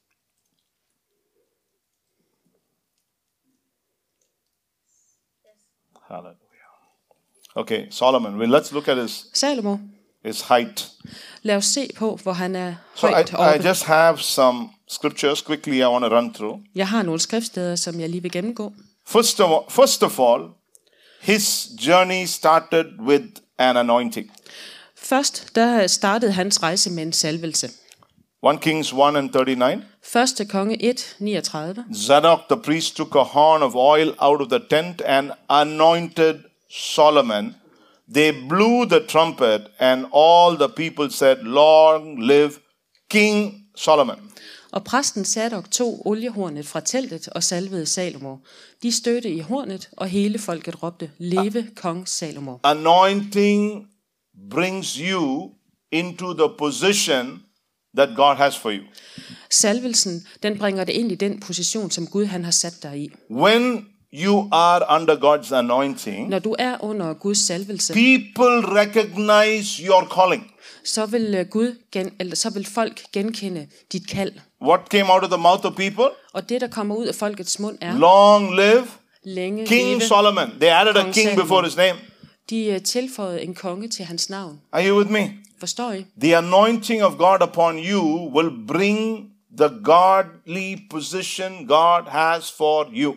Hallelujah. Okay, Solomon. Well, let's look at Salomo, his height. lad os se på, hvor han er So højt I oppe. just have some scriptures quickly I want to run through. Jeg har nogle skriftsteder, som jeg lige vil gennemgå. First of all, his journey started with an anointing. Først, der startede hans rejse med en salvelse. 1 Kings 1:39. 1. konge 1, 39. Zadok the priest took a horn of oil out of the tent and anointed Solomon. They blew the trumpet, and all the people said, Long live King Solomon. Og præsten Zadok tog oliehornet fra teltet og salvede Salomo. De stødte i hornet, og hele folket råbte, leve kong Salomo. Anointing brings you into the position that God has for you. Salvelsen, den bringer det ind i den position, som Gud han har sat dig i. When you are under God's anointing, Når du er under Guds salvelse, people recognize your calling. så vil folk genkende dit kald. What came out of the mouth of people? Og det, der kommer ud af folkets mund, er Long live længe King leve. Solomon. They added a Kong king Salomo. before his name. De tilføjede en konge til hans navn. Are you with me? Forstår I? The anointing of God upon you will bring the godly position God has for you.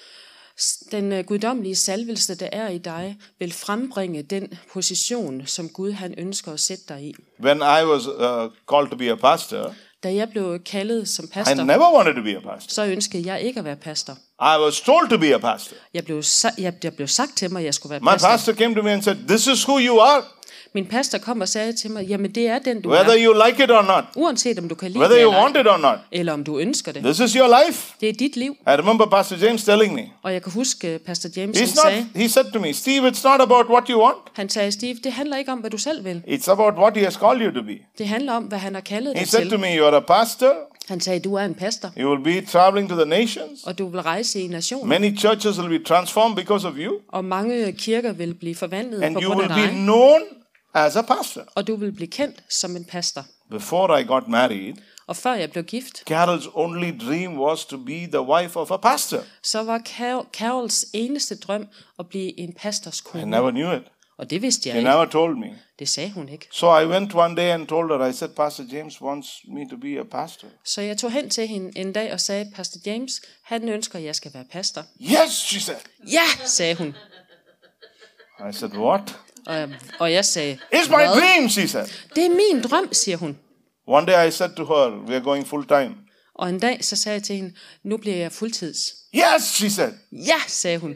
Den guddommelige salvelse, der er i dig, vil frembringe den position, som Gud han ønsker at sætte dig i. When I was called to be a pastor, Da jeg blev kaldet som I pastor, never wanted to be a pastor. så ønskede jeg ikke at være pastor. I was told to be a pastor. Jeg blev sagt til mig, at jeg skulle være My pastor. pastor came to me and said, "This is who you are, Min pastor kom og sagde til mig, jamen det er den, du whether er. you like it or not, Uanset om du kan lide whether det you eller want ej, it or not. eller om du ønsker det. This is your life." Det er dit liv. I remember Pastor James telling me. Og jeg kan huske, Pastor James han He said to me, "Steve, it's not about what you want. Han sagde, Steve, det handler ikke om, hvad du selv vil. It's about what he has called you to be." Det handler om, hvad han har kaldet He dig said to til. me, "You are a pastor. Han sagde, du er en pastor, You will be traveling to the nations. og du vil rejse i nationen. Many churches will be transformed because of you. Og mange kirker vil blive forvandlet And på you grund will af be dig. known as a pastor." Og du vil blive kendt som en pastor. Before I got married, Og før jeg blev gift, Carol's only dream was to be the wife of a pastor. så var Carols eneste drøm at blive en pastors I kone. never knew it. Og det vidste jeg She ikke. never told me. Det sagde hun ikke. So I went one day and told her, I said, "Pastor James wants me to be a pastor." Så jeg tog hen til hende en dag og sagde, Pastor James, han ønsker, at jeg skal være pastor. "Yes," she said. Ja, sagde hun. I said, "What?" Og jeg sagde, "It's my dream," she said. det er min drøm, siger hun. One day I said to her, "We are going full time." Og en dag så sagde jeg til hende, nu bliver jeg fuldtids. "Yes," she said. Ja, sagde hun.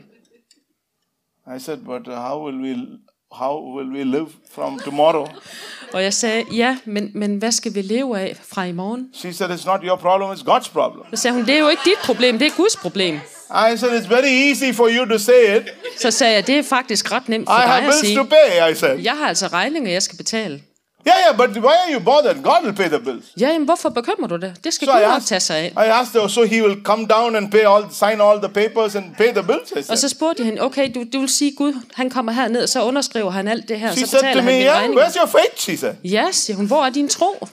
I said, "But how will we live from tomorrow?" Og jeg sagde, ja, men hvad skal vi leve af fra i morgen? She said, "It's not your problem, it's God's problem." Så sagde hun, det er jo ikke dit problem, det er Guds problem. I said, "It's very easy for you to say it. Så sagde jeg, det er faktisk ret nemt for I dig have at bills sige. to pay," I said. Jeg har altså regninger, jeg skal betale. Yeah, but why are you bothered? God will pay the bills." Ja, jamen hvorfor bekymrer du dig? Det skal So Gud I nok tage sig af. asked her, so he will come down and sign all the papers and pay the bills, I Og said. så spurgte jeg hende, okay, du vil sige, Gud, han kommer herned, og så underskriver han alt det her, og She så said betaler to me, han mine "Yeah, regninger. where's your faith?" she said. Ja, siger hun, hvor er din tro?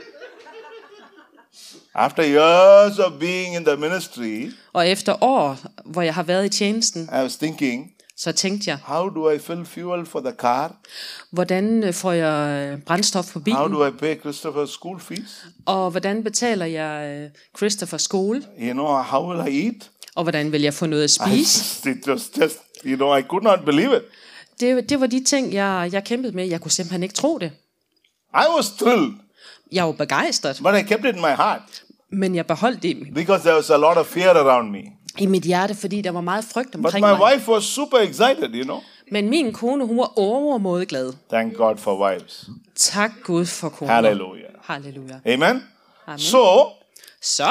After years of being in the ministry, Og efter år, hvor jeg har været i tjenesten, I was thinking, så tænkte jeg, how do I fill fuel for the car? hvordan får jeg brændstof på How bilen? do I pay Christopher's school fees? Og hvordan betaler jeg Christopher skole? You know, how will I eat? Og hvordan vil jeg få noget at spise? It was just, I could not believe it. Det var de ting, jeg kæmpede med. Jeg kunne simpelthen ikke tro det. I was thrilled, Jeg var begejstret, but I kept it in my heart men jeg beholdt det because there was a lot of fear around me. i mit hjerte, fordi der var meget frygt But omkring my mig. wife was super excited, Men min kone, hun var overmåde glad. Thank God for wives. Tak Gud for koner. Hallelujah. Halleluja. Amen? Amen. So, Så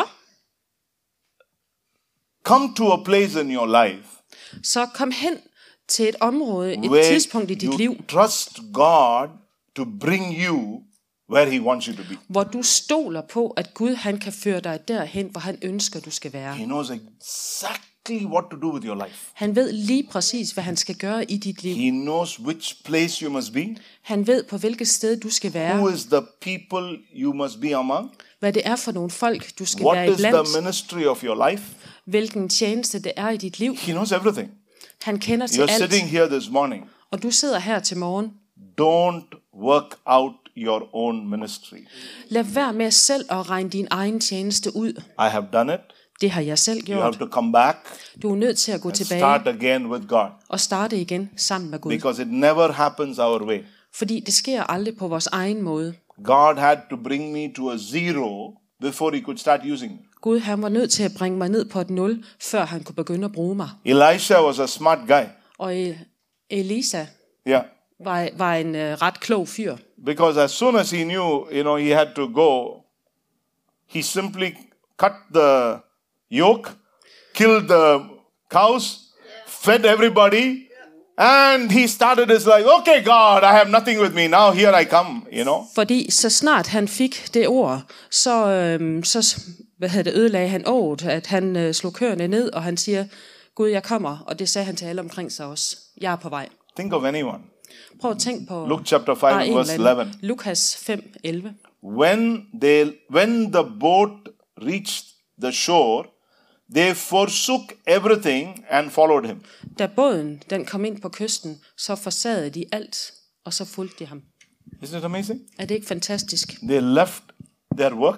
come to a place in your life kom hen til et område, et where tidspunkt i dit you liv, trust God to bring you where He wants you to be. hvor du stoler på, at Gud han kan føre dig derhen, hvor han ønsker, du skal være. He knows exactly what to do with your life. Han ved lige præcis, hvad han skal gøre i dit liv. He knows which place you must be, Han ved, på hvilket sted du skal who være, is the people you must be among, hvad det er for nogle folk, du skal what være is the iblandt, ministry of your life. hvilken tjeneste det er i dit liv. He knows everything. Han kender til You're alt, sitting here this morning. og du sidder her til morgen. Don't work out your own ministry. Lad være med selv at regne din egen tjeneste ud. I have done it. Det har jeg selv You have gjort. to come back Du er nødt til at gå and tilbage start again with God, og starte igen sammen med Gud. because it never happens our way. Fordi det sker aldrig på vores egen måde. God had to bring me to a zero before He could start using me. Gud han var nødt til at bringe mig ned på et 0, før han kunne begynde at bruge mig. Elisha was a smart guy. Og Elisa Yeah. var en ret klog fyr. Because as soon as he knew, he had to go, he simply cut the yoke, killed the cows, fed everybody, and he started his life. Okay, God, I have nothing with me. Now here I come, Fordi så snart han fik det ord, så ødelagde han året, at han slog køerne ned, og han siger, Gud, jeg kommer, og det sagde han til alle omkring sig også. Jeg er på vej. Think of anyone. Prøv at tænke på Luke chapter 5, bare en verse eller anden. 11. Lukas 5:11. When the boat reached the shore, they forsook everything and followed him. Da båden den kom ind på kysten, så forsagede de alt, og så fulgte de ham. Isn't it amazing? Er det ikke fantastisk? They left their work.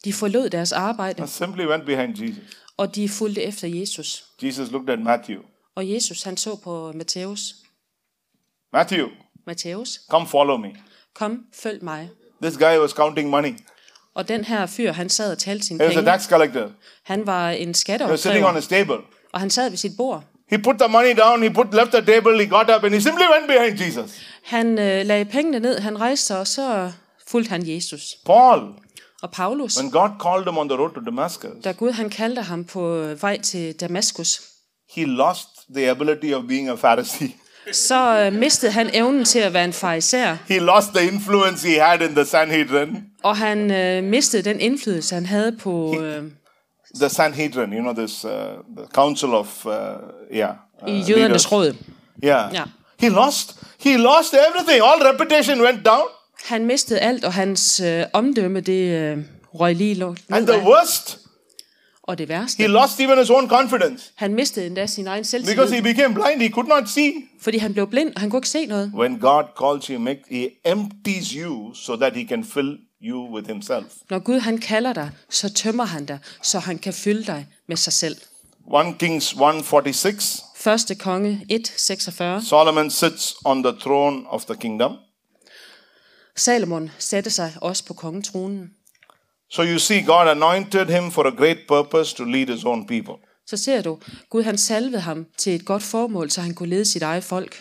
De forlod deres arbejde, and simply went behind Jesus. og de fulgte efter Jesus. Jesus looked at Matthew. Og Jesus, han så på Matthæus. Matthew, come follow me. Kom, følg mig. This guy was counting money. Og den her fyr, han sad og talte sine He was a penge. tax collector. Han var en He was sitting on skatteopkræver, his table. og han sad ved sit bord. He put the money down, left the table, he got up and he simply went behind Jesus. Han lagde pengene ned, han rejste sig, og så fulgte han Jesus. Paul, Og Paulus, when God called him on the road to Damascus, da Gud han kaldte ham på vej til Damaskus, he lost the ability of being a Pharisee. så mistede han evnen til at være en farisæer, He lost the influence he had in the Sanhedrin. og han mistede den indflydelse, han havde på The Sanhedrin, you know, this the council of i jødernes leaders. råd. Yeah. Ja. He lost everything. All reputation went down. Han mistede alt, og hans omdømme, det røg lige And ned the af. worst, Og det he værste, lost even his own confidence. han mistede endda sin egen Because selvtillid, he became blind, he could not see. fordi han blev blind, og han kunne ikke se noget. When God calls you, he empties you so that he can fill you with himself. Når Gud han kalder dig, så tømmer han dig, så han kan fylde dig med sig selv. 1 Kings 1:46. 1. konge 1:46. Solomon sits on the throne of the kingdom. Salomon satte sig også på kongetronen. So you see, God anointed him for a great purpose to lead his own people. Så ser du, Gud han salvede ham til et godt formål, så han kunne lede sit eget folk.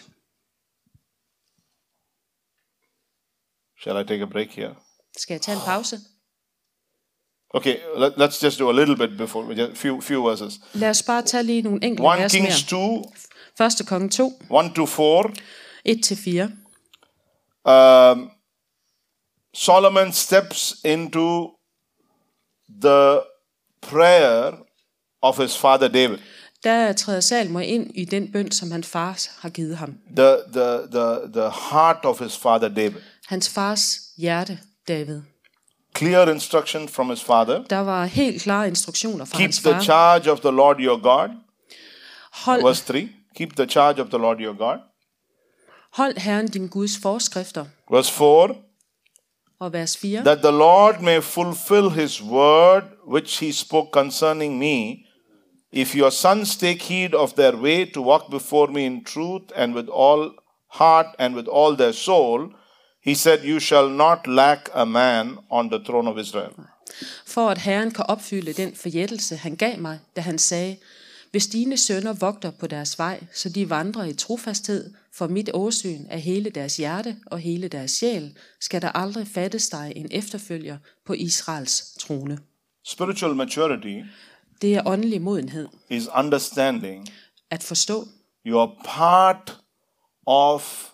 Shall I take a break here? Skal jeg tage en pause? Okay, let's just do a little bit before, just few verses. Lad os bare tage lige nogle enkelte 1 vers Kings mere. 2, 1. konge 2, 1-4. 1-4. Solomon steps into the prayer of his father David. Der træder Salomon ind i den bøn, som hans far har givet ham. The heart of his father David. Hans fars hjerte, David. Clear instruction from his father. Der var helt klare instruktioner fra Keep hans the far. charge of the Lord your God. Hold, Verse 3. Keep the charge of the Lord your God. hold Herren din Guds forskrifter. Verse 4. Og vers 4. That the Lord may fulfill his word which he spoke concerning me. If your sons take heed of their way to walk before me in truth and with all heart and with all their soul, he said, you shall not lack a man on the throne of Israel. For at Herren kan opfylde den forjættelse, han gav mig, da han sagde, hvis dine sønner vogter på deres vej, så de vandrer i trofasthed for mit åsyn af hele deres hjerte og hele deres sjæl, skal der aldrig fattes dig en efterfølger på Israels trone. Spiritual maturity Det er åndelig modenhed. is understanding At forstå, you are part of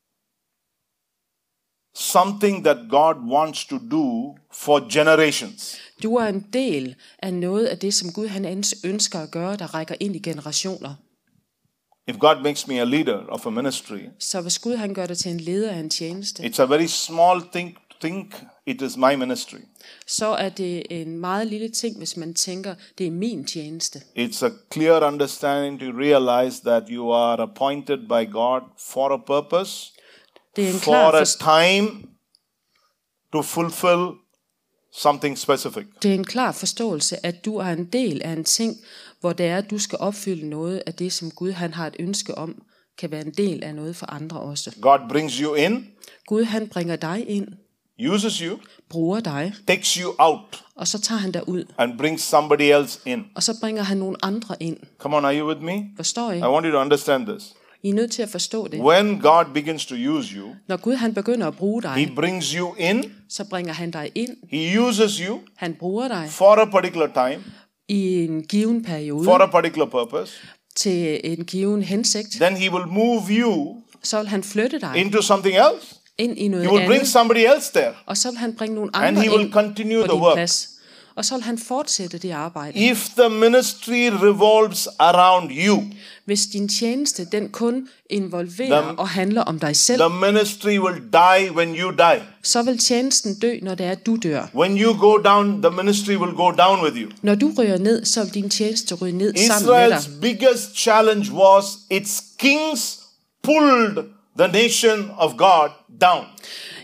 something that God wants to do for generations. du er en del af noget af det, som Gud han ønsker at gøre, der rækker ind i generationer. If God makes me a leader of a ministry, Så hvis Gud han gør dig til en leder af en tjeneste, it's a very small thing to think it is my ministry. så er det en meget lille ting, hvis man tænker, det er min tjeneste. It's a clear understanding to realize that you are appointed by God for a purpose, Det er en for klar a time to fulfill something specific. Det er en klar forståelse, at du er en del af en ting, hvor det er, at du skal opfylde noget af det, som Gud han har et ønske om, kan være en del af noget for andre også. God brings you in, Gud han bringer dig ind, uses you, bruger dig, takes you out, og så tager han dig ud, and brings somebody else in. og så bringer han nogle andre ind. Come on, are you with me? Forstår I? I want you to understand this. I er nødt til at forstå det. When God begins to use you, Når Gud han begynder at bruge He dig, brings you in, så bringer han dig ind, He uses you han bruger dig for a particular time, i en given periode, for a particular purpose. til en given hensigt, Then He will move you så vil han flytte dig into something else. ind i noget He will bring andet, somebody else there. og så vil han bringe nogle And andre he will ind continue på the din work. plads. Og så vil han fortsætte det arbejde. If the ministry revolves around you, Hvis din tjeneste, den kun involverer og handler om dig selv, the ministry will die when you die. så vil tjenesten dø, når det er, at du dør. When you go down, the ministry will go down with you. Når du ryger ned, så vil din tjeneste ryge ned sammen med dig. Israel's biggest challenge was its kings pulled the nation of God down.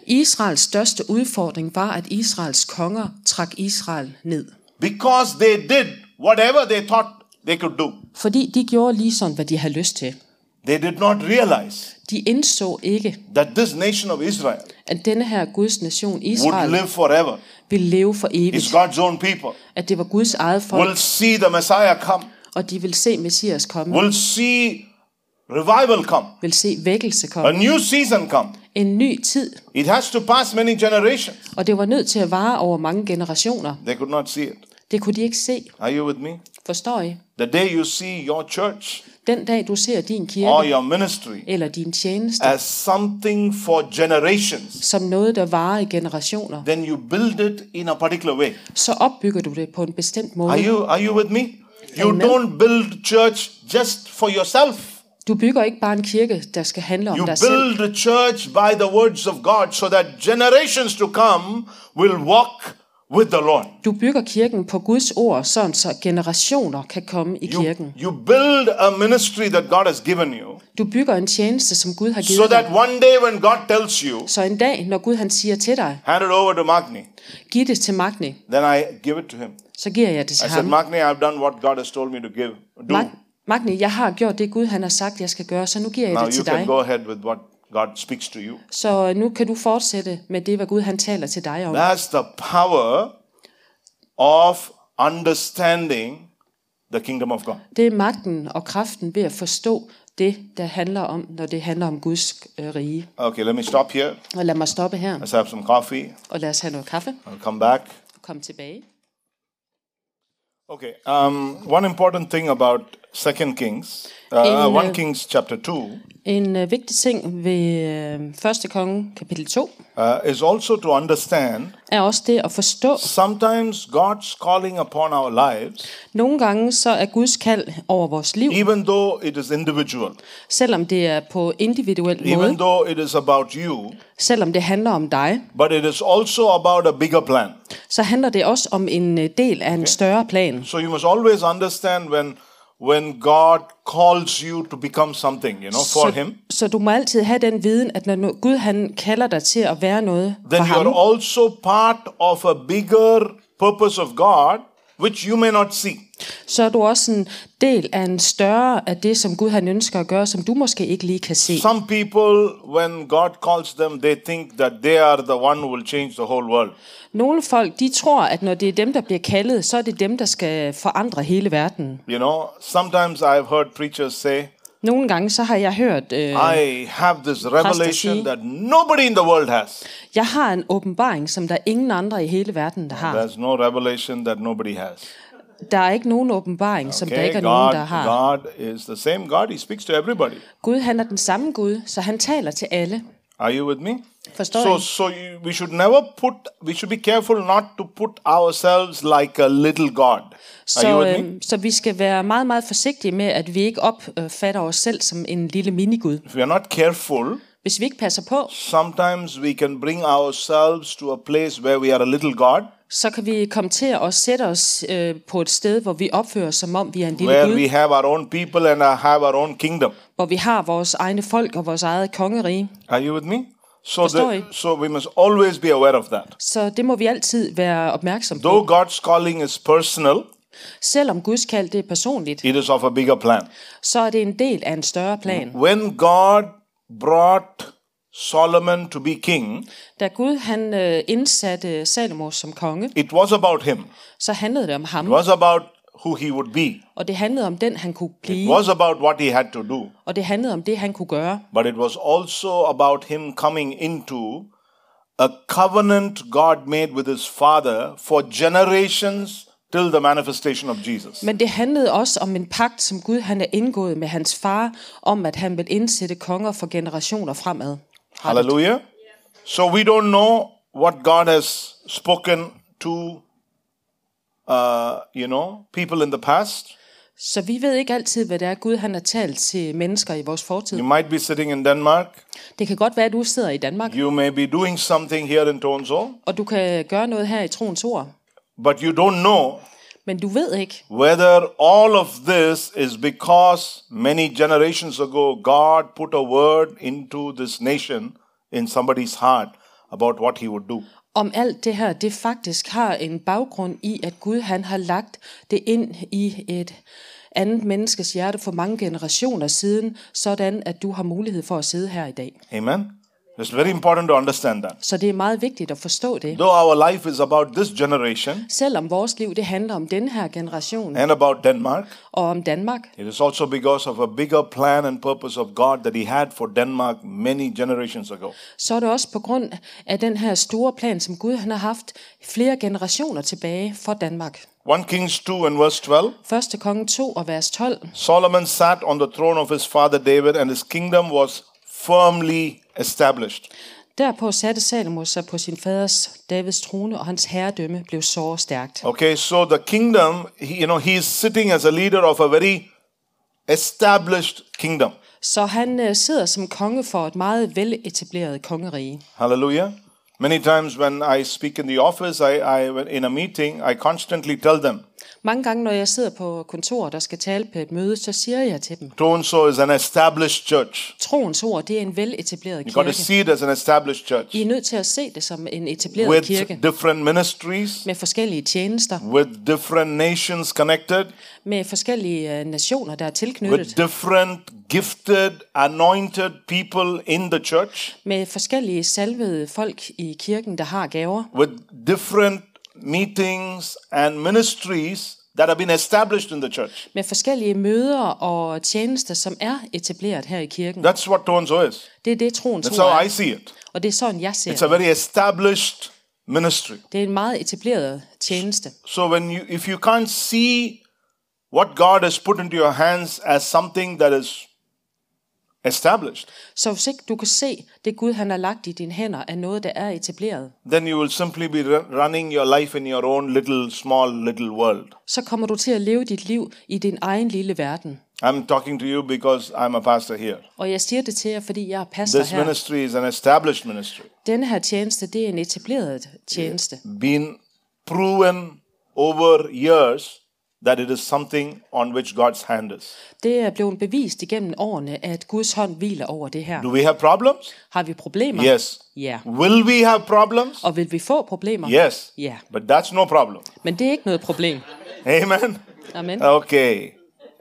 Israels største udfordring var, at Israels konger trak Israel ned. Because they did whatever they thought they could do. Fordi de gjorde lige sådan, hvad de havde lyst til. They did not realize De indså ikke, that this nation of Israel at denne her Guds nation, would Israel, live forever. ville leve for It's evigt. God's own people. At det var Guds eget folk, Will see the Messiah come. og de vil se Messias komme, Will see revival come. vil se vækkelse A komme. new season come. En ny tid, It has to pass many generations. og det var nødt til at vare over mange generationer. They could not see it. Det kunne de ikke se. Are you with me? Forstår I? The day you see your church Den dag du ser din or kirke your ministry eller din tjeneste as something for generations, som noget, der varer i generationer, then you build it in a particular way. så opbygger du det på en bestemt måde. Are you with me? You Amen. don't build church just for yourself. Du bygger ikke bare en kirke, der skal handle om You dig selv. build a church by the words of God so that generations to come will walk with the Lord. Du bygger kirken på Guds ord, sådan så generationer kan komme i kirken. You build a ministry that God has given you Du bygger en tjeneste, som Gud har so givet that dig. one day when God tells you, Så en dag, når Gud han siger til dig, hand it over to Magni, giv det til Magni, then I give it to him. så giver jeg det I til said, ham. Magni, I've done what God has told me to do. Magni, jeg har gjort det Gud han har sagt, jeg skal gøre, så nu giver jeg Now det you til can dig. go ahead with what God speaks to you. Så nu kan du fortsætte med det, hvad Gud han taler til dig om. That's the power of understanding the kingdom of God. Det er magten og kraften ved at forstå det, der handler om, når det handler om Guds rige. Okay, let me stop here. Og lad mig stoppe her, Let's have some coffee. og lad os have noget kaffe I'll come back. og komme tilbage. Okay, one important thing about 2 Kings, 1 Kings chapter 2, En vigtig ting ved 1. konge kapitel 2, is also to understand er også det at forstå. sometimes God's calling upon our lives, Nogle gange så er Guds kald over vores liv, even though it is individual, selvom det er på individuel even måde, though it is about you, selvom det handler om dig, but it is also about a bigger plan. så handler det også om en del af en større plan. So you must always understand when God calls you to become something, for Him, Så du må altid have den viden, at når Gud han kalder dig til at være noget for then you ham, are also part of a bigger purpose of God, which you may not see. så er du også en del af en større af det, som Gud han ønsker at gøre, som du måske ikke lige kan se. Some people, when God calls them, they think that they are the one who will change the whole world. Nogle folk, de tror, at når det er dem, der bliver kaldet, så er det dem, der skal forandre hele verden. Sometimes I've heard preachers say, Nogle gange så har jeg hørt, I have this revelation that nobody in the world has. jeg har en åbenbaring, som der er ingen andre i hele verden, der har. There's no revelation that nobody has. Der er ikke nogen åbenbaring, som der ikke er nogen, der har. God is the same God. He speaks to everybody. Gud, han er den samme Gud, så han taler til alle. Are you with me? Forstår I? So we should be careful not to put ourselves like a little God. Are you with me? Så vi skal være meget, meget forsigtige med, at vi ikke opfatter os selv som en lille minigud. If we are not careful, Hvis vi ikke passer på, sometimes we can bring ourselves to a place where we are a little God, så kan vi komme til at sætte os på et sted, hvor vi opfører os, som om vi er en lille where Gud. we have our own people and have our own kingdom. Hvor vi har vores egne folk og vores eget kongerige. Are you with me? Forstår I? So we must always be aware of that. Så det må vi altid være opmærksom Though på. God's calling is personal, Selvom Guds kald det er personligt, it is of a bigger plan. så er det en del af en større plan. When God brought Solomon to be king, Da Gud han indsatte Salomo som konge, it was about him. så handlede det om ham, It was about who he would be. og det handlede om den, han kunne It blive, was about what he had to do. og det handlede om det, han kunne gøre. But it was also about him coming into a covenant God made with his father for generations till the manifestation of Jesus. Men det handlede også om en pagt, som Gud han er indgået med hans far, om at han vil indsætte konger for generationer fremad. Hallelujah. So we don't know what God has spoken to, people in the past. Så vi ved ikke altid, hvad det er, Gud han har talt til mennesker i vores fortid. You might be sitting in Denmark. Det kan godt være, at du sidder i Danmark, You may be doing something here in Tonsol, og du kan gøre noget her i troens ord. but you don't know Men du ved ikke, whether all of this is because many generations ago God put a word into this nation in somebody's heart about what he would do. Om alt det her, det faktisk har en baggrund i, at Gud han har lagt det ind i et andet menneskes hjerte for mange generationer siden, sådan at du har mulighed for at sidde her i dag. Amen. It's very important to understand that. Så det er meget vigtigt at forstå det. Though our life is about this generation Selvom vores liv det handler om den her generation and about Denmark, og om Danmark, it is also because of a bigger plan and purpose of God that he had for Denmark many generations ago. så er det også på grund af den her store plan, som Gud han har haft flere generationer tilbage for Danmark. 1 Kings 2 and verse 12. 1. konge 2 og vers 12. Solomon sat on the throne of his father David, and his kingdom was firmly established. Derpå satte Salomo sig på sin faders Davids trone, og hans herredømme blev såre stærkt. Okay, so the kingdom, he is sitting as a leader of a very established kingdom. Så han sidder som konge for et meget veletableret kongerige. Hallelujah. Many times when I speak in the office, in a meeting, I constantly tell them, Mange gange, når jeg sidder på kontoret og skal tale på et møde, så siger jeg til dem, so is an established church. troens ord, det er en veletableret You got to kirke. see it as an established church. I er nødt til at se det som en etableret With kirke, different ministries, med forskellige tjenester, with different nations connected, med forskellige nationer, der er with tilknyttet, different gifted, anointed people in the church, med forskellige salvede folk i kirken, der har gaver, with different meetings and ministries that have been established in the church. med forskellige møder og tjenester, som er etableret her i kirken. That's what Tonso is. Det er det, troens That's ord how er. I see it. Og det er sådan, jeg ser It's a det. very established ministry. Det er en meget etableret tjeneste. So if you can't see what God has put into your hands as something that is established, Så hvis ikke du kan se det Gud, han har lagt i dine hænder, er noget, der er etableret, then you will simply be running your life in your own little world. så kommer du til at leve dit liv i din egen lille verden. I'm talking to you because I'm a pastor here. Og jeg siger det til jer, fordi jeg er pastor This her. ministry is an established ministry. Denne her tjeneste, det er en etableret tjeneste. Been proven over years that it is something on which God's hand is. Det er blevet bevist igennem årene, at Guds hånd hviler over det her. Do we have problems? Har vi problemer? Yes. Ja. Will we have problems? Og vil vi få problemer? Yes. Ja. But that's no problem. Men det er ikke noget problem. Amen. Amen. Okay.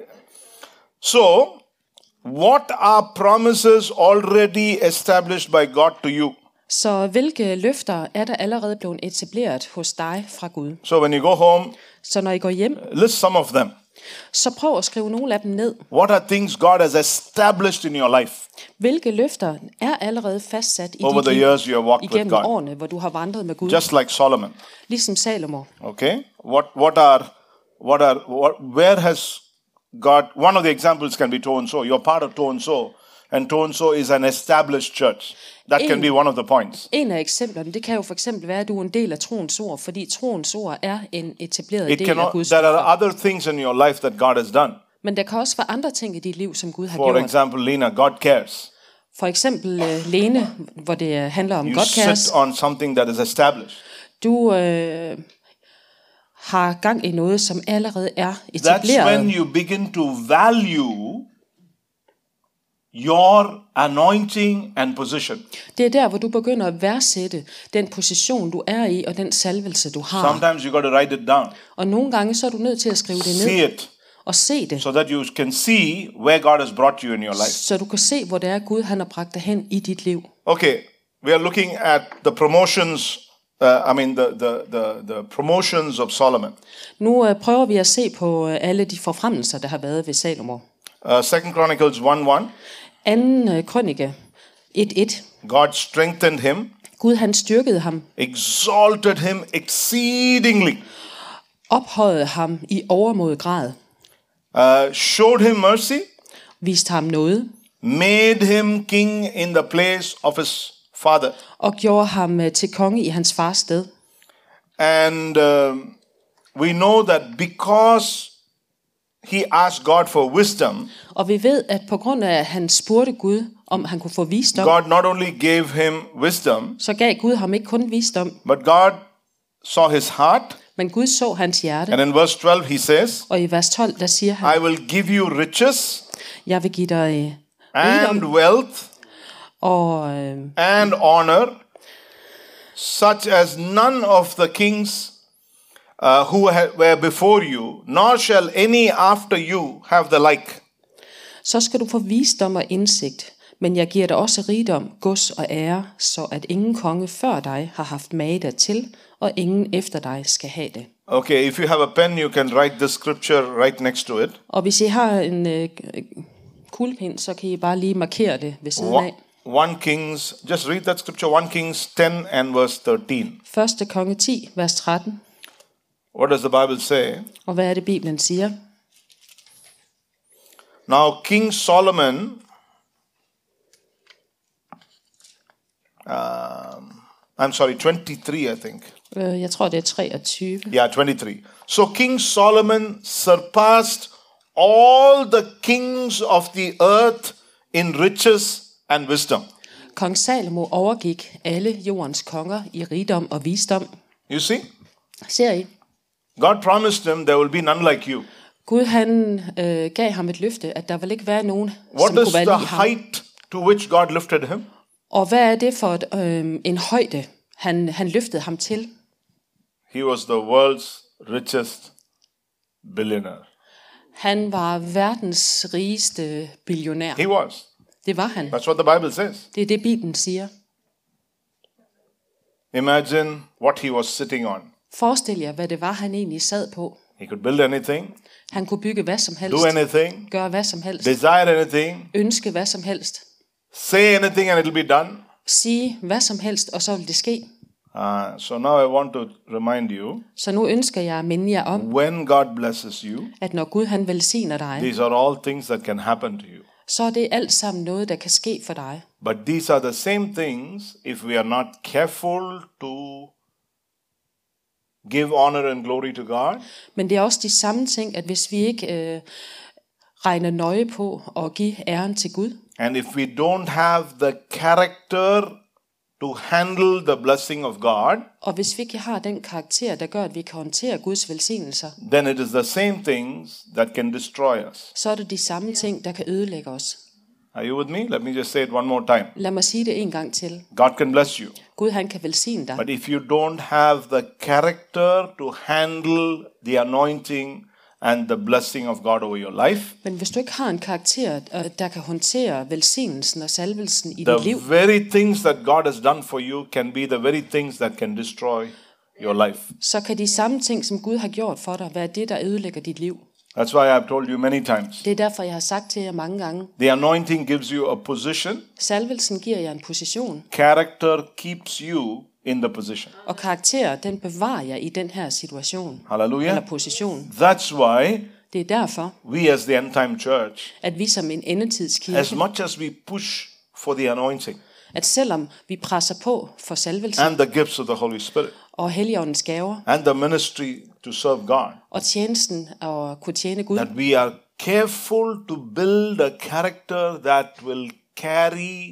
So, what are promises already established by God to you? Så hvilke løfter er der allerede blevet etableret hos dig fra Gud? So when you go home, Så når I går hjem, list some of them. så prøv at skrive nogle af dem ned. What are things God has established in your life Hvilke løfter er allerede fastsat i over dit the liv years you have walked with igennem God? årene, hvor du har vandret med Gud, Just like Solomon. ligesom Salomo. Okay? Where has God, one of the examples can be Tonso. You're part of Tonso, and Tonso is an established church. That can be one of the points. En af eksemplerne, det kan jo for eksempel være, at du er en del af troens ord, fordi troens ord er en etableret It del can, af Guds there ord. are other things in your life that God has done. Men der kan også være andre ting i dit liv, som Gud har For gjort. example, Lena, God cares. For eksempel Lene, hvor det handler om You Godcares. sit on something that is established. Du har gang i noget, som allerede er That's etableret. when you begin to value your anointing and position. Det er der, hvor du begynder at værdsætte den position, du er i, og den salvelse, du har. Sometimes you got to write it down. Og nogle gange, så er du nødt til at skrive det See ned it og se det, so that you can see where God has brought you in your life. så du kan se, hvor det er, Gud han har bragt dig hen i dit liv. Okay, we are looking at the promotions. The promotions of Solomon. Nu prøver vi at se på alle de forfremmelser, der har været ved Salomo. 2 Chronicles 1:1. Anden krønike 1:1. God strengthened him, Gud han styrkede ham, exalted him exceedingly, ophøjede ham i overmod grad, showed him mercy, viste ham noget, made him king in the place of his father. og gjorde ham til konge i hans fars sted. And we know that because he asked God for wisdom, Og vi ved, at på grund af, at han spurgte Gud, om han kunne få visdom, God not only gave him wisdom, så gav Gud ham ikke kun visdom, but God saw his heart. men Gud så hans hjerte. And in verse 12 he says, Og i vers 12, der siger han, I will give you riches jeg vil give dig and rigdom wealth og and honor such as none of the kings who were before you, nor shall any after you have the like. Så skal du få visdom og indsigt, men jeg giver dig også rigdom, gods og ære, så at ingen konge før dig har haft mage dertil, og ingen efter dig skal have det. Okay, if you have a pen, you can write this scripture right next to it. Og hvis I har en kuglepind, så kan I bare lige markere det ved siden af. 1 Kings, just read that scripture, 1 Kings 10 and verse 13. 1. konge 10, vers 13. What does the Bible say? Og hvad er det, Bibelen siger? Now King Solomon, I'm sorry, 23 I think. Jeg tror, det er 23. Yeah, 23. So King Solomon surpassed all the kings of the earth in riches and wisdom. Kong Salomo overgik alle jordens konger i rigdom og visdom. You see? Ser I? God promised him there will be none like you. Gud han gav ham et løfte, at der vil ikke være nogen, What som is kunne være the lige ham. height to which God lifted him? Og hvad er det for en højde, han løftede ham til? He was the world's richest billionaire. Han var verdens rigeste billionær. He was. Det var han. That's what the Bible says. Det er det, Bibelen siger. Imagine what he was sitting on. Forestil jer, hvad det var, han egentlig sad på. He could build anything, Han kunne bygge hvad som helst. do anything, Gøre hvad som helst. desire anything, Ønske hvad som helst. say anything and it'll be done. Sige hvad som helst, og så vil det ske. So now I want to remind you, Så nu ønsker jeg at minde jer om, when God blesses you, at når Gud han velsigner dig, these are all things that can happen to you. så er det alt sammen noget, der kan ske for dig. But these are the same things, if we are not careful to give honor and glory to God, Men det er også de samme ting, at hvis vi ikke regner nøje på at give æren til Gud, and if we don't have the character to handle the blessing of God, og hvis vi ikke har den karakter, der gør, at vi kan håndtere Guds velsignelser, then it is the same things that can destroy us. så er det de samme ting, der kan ødelægge os. Are you with me? Let me just say it one more time. Lad mig sige det en gang til. God can bless you. Gud han kan velsigne dig. But if you don't have the character to handle the anointing and the blessing of God over your life, Men hvis du ikke har en karakter, der kan håndtere velsignelsen og salvelsen i dit the liv, very things that God has done for you can be the very things that can destroy your life. så kan de samme ting, som Gud har gjort for dig, være det, der ødelægger dit liv. That's why I've told you many times. Det er derfor, jeg har sagt til jer mange gange. The anointing gives you a position. Salvelsen giver jer en position, Character keeps you in the position. og karakter, den bevarer jer i den her situation, Hallelujah. eller position. That's why Det er derfor, we as the end time church, at vi som en as endetidskirke, much as we push for the anointing at selvom vi presser på for salvelsen and the gifts of the Holy Spirit og Helligåndens gaver, and the ministry to serve God, og tjenesten og kunne tjene Gud, that we are careful to build a character that will carry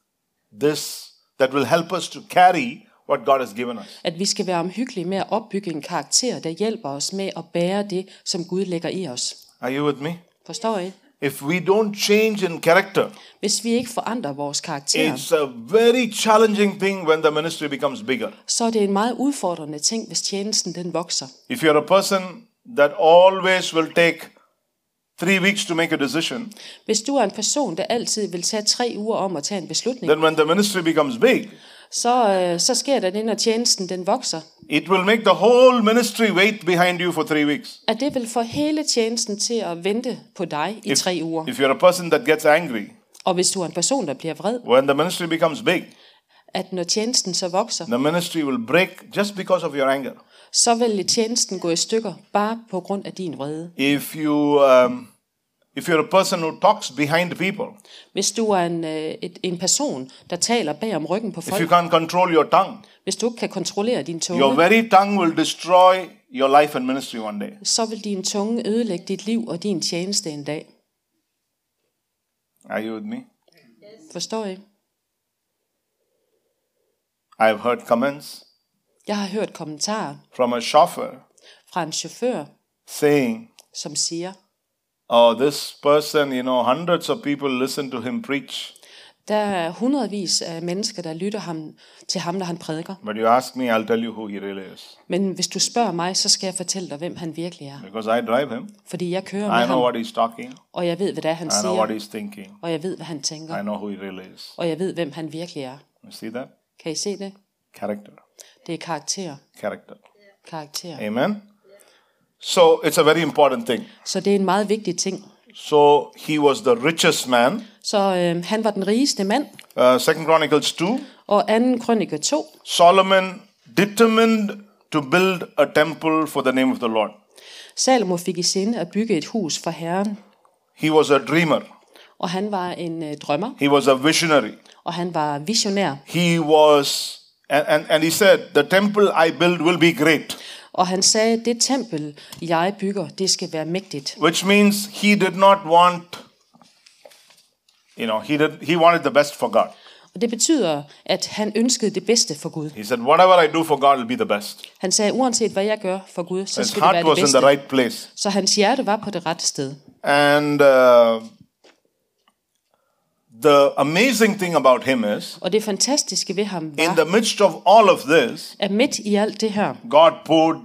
this, that will help us to carry what God has given us. at vi skal være omhyggelige med at opbygge en karakter, der hjælper os med at bære det, som Gud lægger i os. Are you with me? Forstår I? If we don't change in character, Hvis vi ikke forandrer vores karakter, it's a very challenging thing when the ministry becomes bigger. så er det en meget udfordrende ting, hvis tjenesten den vokser. If you're a person that always will take 3 weeks to make a decision, Hvis du er en person, der altid vil tage 3 uger om at tage en beslutning, then when the ministry becomes big, så sker der det, når tjenesten den vokser, it will make the whole ministry wait behind you for 3 weeks. at det vil få hele tjenesten til at vente på dig i 3 uger. If you're a person that gets angry, Og hvis du er en person, der bliver vred, when the ministry becomes big, at når tjenesten så vokser, the ministry will break just because of your anger. så vil tjenesten gå i stykker bare på grund af din vrede. If you're a person who talks behind people, Hvis du er en person, der taler bag om ryggen på if you folk, can't control your tongue, hvis du ikke kan kontrollere din your tunge, very tongue will destroy your life and ministry one day. så vil din tunge ødelægge dit liv og din tjeneste en dag. Are you with me? Forstår I? I've heard comments Jeg har hørt kommentarer from a chauffeur fra en chauffør, saying, som siger, oh, this person, hundreds of people listen to him preach. Der er hundredvis af mennesker, der lytter til ham, når han prædiker. But you ask me, I'll tell you who he really is. Men hvis du spørger mig, så skal jeg fortælle dig, hvem han virkelig er. Because I drive him. Fordi jeg kører I med know ham, what he's talking. og jeg ved, hvad det er, han I know what siger, he's thinking. og jeg ved, hvad han tænker, I know who he really is. og jeg ved, hvem han virkelig er. You see that? Kan I se det? Character. Det er karakter. Character. Karakter. Amen. So it's a very important thing. Så det er en meget vigtig ting. So he was the richest man. Så han var den rigeste mand. 2 Chronicles 2. Og 2. Krønike 2. Solomon determined to build a temple for the name of the Lord. Salomo fik i sinde at bygge et hus for Herren. He was a dreamer. Og han var en drømmer. He was a visionary. Og han var visionær. He was, and he said, the temple I build will be great. Og han sagde, det tempel, jeg bygger, det skal være mægtigt. Which means he did not want, he wanted the best for God. Og det betyder, at han ønskede det bedste for Gud. He said, whatever I do for God will be the best. Han sagde, uanset hvad jeg gør for Gud, så His skal det heart være det was in bedste. the right place. Så hans hjerte var på det rette sted. And the amazing thing about him is, Og det fantastiske ved ham in var, the midst of all of this, at midt i alt det her, God poured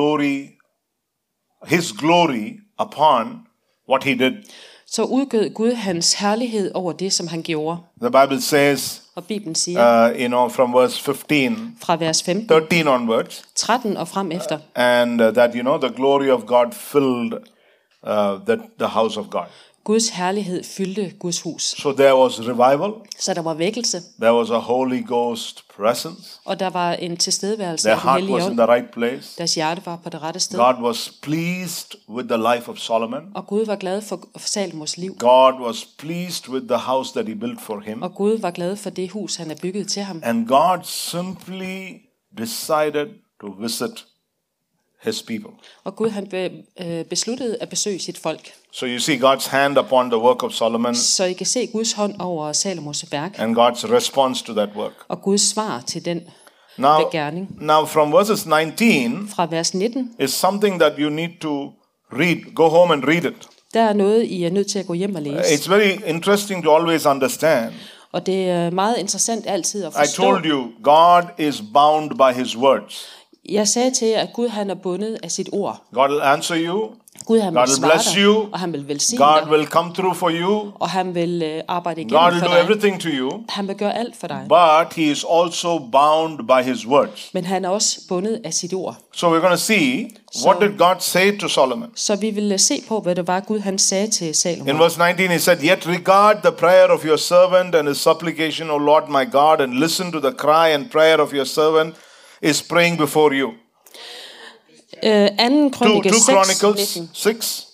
his glory upon what he did. så udgød Gud hans herlighed over det, som han gjorde. The Bible says, Og Bibelen siger, from verse 15, fra vers 15, 13 onwards, 13 og frem efter, and that, the glory of God filled the house of God. Guds herlighed fyldte Guds hus. So there was revival, Så der var vækkelse, there was a Holy Ghost presence, og der var en tilstedeværelse their af den heart hellige was in ånd. the right place. Deres hjerte var på det rette sted. God was pleased with the life of Solomon. Og Gud var glad for Salomos liv. God was pleased with the house that he built for him. Og Gud var glad for det hus, han har bygget til ham. And God simply decided to visit his people. Og Gud han besluttede at besøge sit folk. So you see God's hand upon the work of Solomon Så I kan se Guds hånd over Salomos værk, and God's response to that work. og Guds svar til den Now gerning. from verses 19 Fra vers 19, is something that you need to read. Go home and read it. der er noget, I er nødt til at gå hjem og læse. It's very interesting to always understand. Og det er meget interessant altid at I forstå. told you, God is bound by his words. Jeg sagde til jer, at Gud han er bundet af sit ord. God will answer you. Gud han God vil will svare bless dig, you. og han vil velsigne God dig, will come through for you. og han vil arbejde God igennem will for do dig. everything to you. Han vil gøre alt for dig. But he is also bound by his words. Men han er også bundet af sit ord. So we're going to see what did God say to Solomon. Så vi vil se på, hvad det var, Gud han sagde til Salomo. In verse 19 he said, "Yet regard the prayer of your servant and his supplication, O Lord my God, and listen to the cry and prayer of your servant is praying before you." 2. Krønike 2 6, Chronicles 19. 6.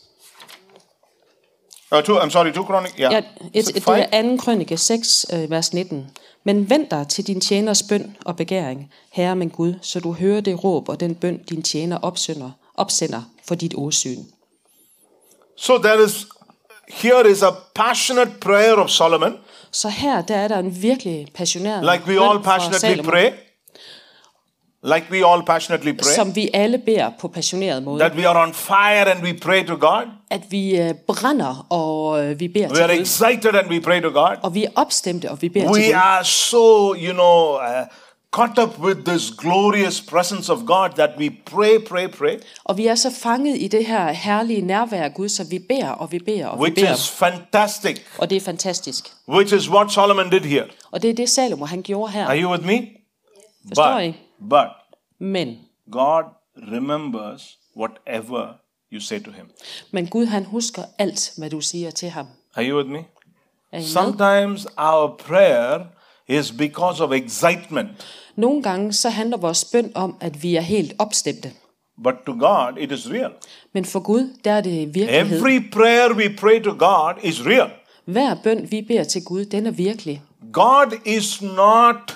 2 Chronicles, Ja, det 5. er 2. Krønike 6, vers 19. Men vend dig til din tjeners bøn og begæring, Herre min Gud, så du hører det råb og den bøn, din tjener opsender for dit åsyn. So here is a passionate prayer of Solomon, Så her, der er der en virkelig passioneret like we bøn all fra passionately Salomo, pray. Like we all passionately pray. som vi alle beder på passioneret måde. That we are on fire and we pray to God. At vi brænder, og vi beder We til are Gud. excited and we pray to God. Og vi er opstemte, og vi beder til We Gud. are so, caught up with this glorious presence of God that we pray. Og vi er så fanget i det her herlige nærvær af Gud, så vi beder, og vi beder, og vi Which beder. is fantastic. Og det er fantastisk. Which is what Solomon did here. Og det er det, Salomo han gjorde her. Are you with me? Forstår I? But Men God remembers whatever you say to him. Gud han husker alt, hvad du siger til ham. Are you with me? Er I med? Sometimes our prayer is because of excitement. Nogle gange så handler vores bøn om, at vi er helt opstemte. But to God, it is real. Men for Gud, der er det virkelighed. Every prayer we pray to God is real. Hver bøn, vi beder til Gud, den er virkelig. God is not,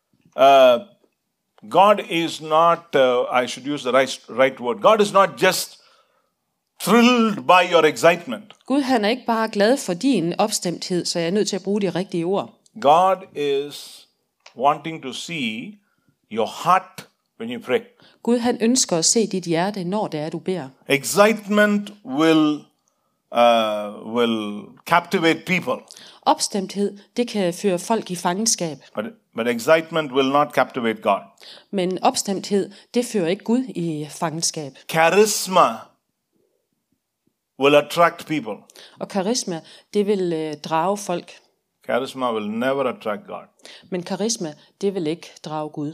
I should use the right word. God is not just thrilled by your excitement. Gud han er ikke bare glad for din opstemthed, så jeg er nødt til at bruge de rigtige ord. God is wanting to see your heart when you pray. Gud han ønsker at se dit hjerte, når det er, du beder. Excitement will will captivate people. Opstemthed, det kan føre folk i fangenskab. But excitement will not captivate God. Men opstemthed, det fører ikke Gud i fangenskab. Charisma will attract people. Og karisma, det vil drage folk. Charisma will never attract God. Men karisma, det vil ikke drage Gud.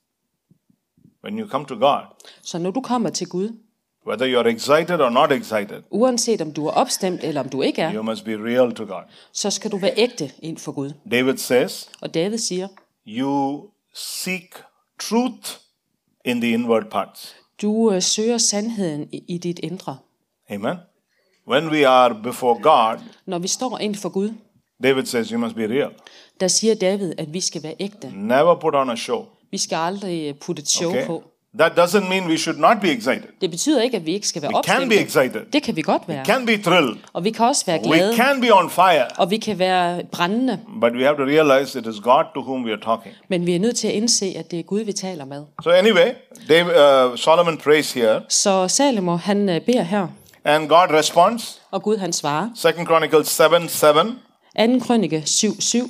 When you come to God, Så når du kommer til Gud, whether you're excited or not excited, uanset om du er opstemt eller om du ikke er, you must be real to God. så skal du være ægte ind for Gud. David says, Og David siger, you seek truth in the inward parts. du søger sandheden i dit indre. Amen. When we are before God, Når vi står ind for Gud, David says you must be real. der siger David, at vi skal være ægte. Never put on a show. Vi skal aldrig putte et show Okay? på. That doesn't mean we should not be excited. Det betyder ikke, at vi ikke skal være We can be opstemte. excited. Det kan vi godt være. Can be thrilled. Og vi kan også være We glade. can be on fire. Og vi kan være brændende. But we have to realize it is God to whom we are talking. Men vi er nødt til at indse, at det er Gud, vi taler med. So anyway, Solomon prays here, Så Salomo, han beder her, and God responds. og Gud han svarer. 2 Chronicles 7:7. 2. Krønike 7:7.